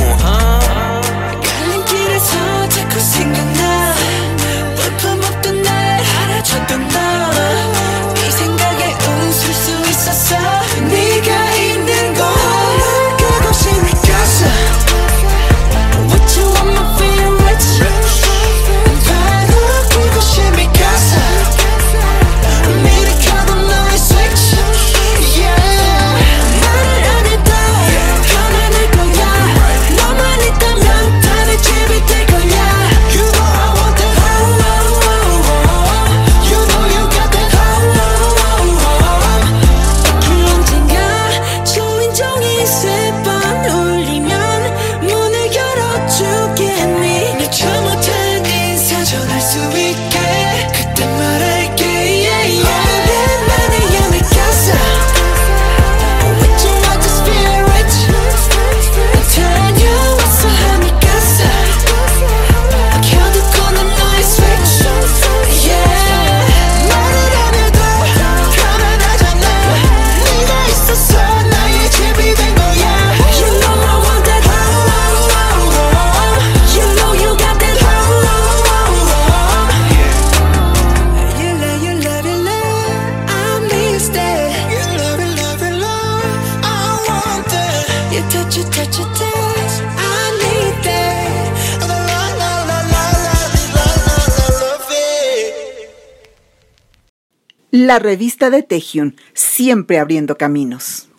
갈림길에서 자꾸 생각나 볼품없던 날 알아줬던 너 이 생각에 웃을 수 있었어 네가 있는 곳 그곳이 내 casa What you want my favorite 바로 그곳이 내 casa 미리 켜둔 너의 switch Yeah 말을 안 해도 편안할 거야 너만 있다면 다 내 집이 될 거야 You know I want that You know you got that 그 언젠가 초인종이 세 번 울리면 문을 열어주겠니 내 저 못한 인사 전할 수 있게 그때 말할게 yeah, yeah. 오랜만에야 내 casa With you I just feel rich 다녀왔어 하니 casa 켜두고 난 너의 switch Yeah 말을 안 해도 편안하잖아 네가 있어서 나의 집이 된 거야 You know I want that You know you got that You love, I miss that You love, I want that You touch it, I need that La la la la la love it
La revista de Taehyun, siempre abriendo caminos.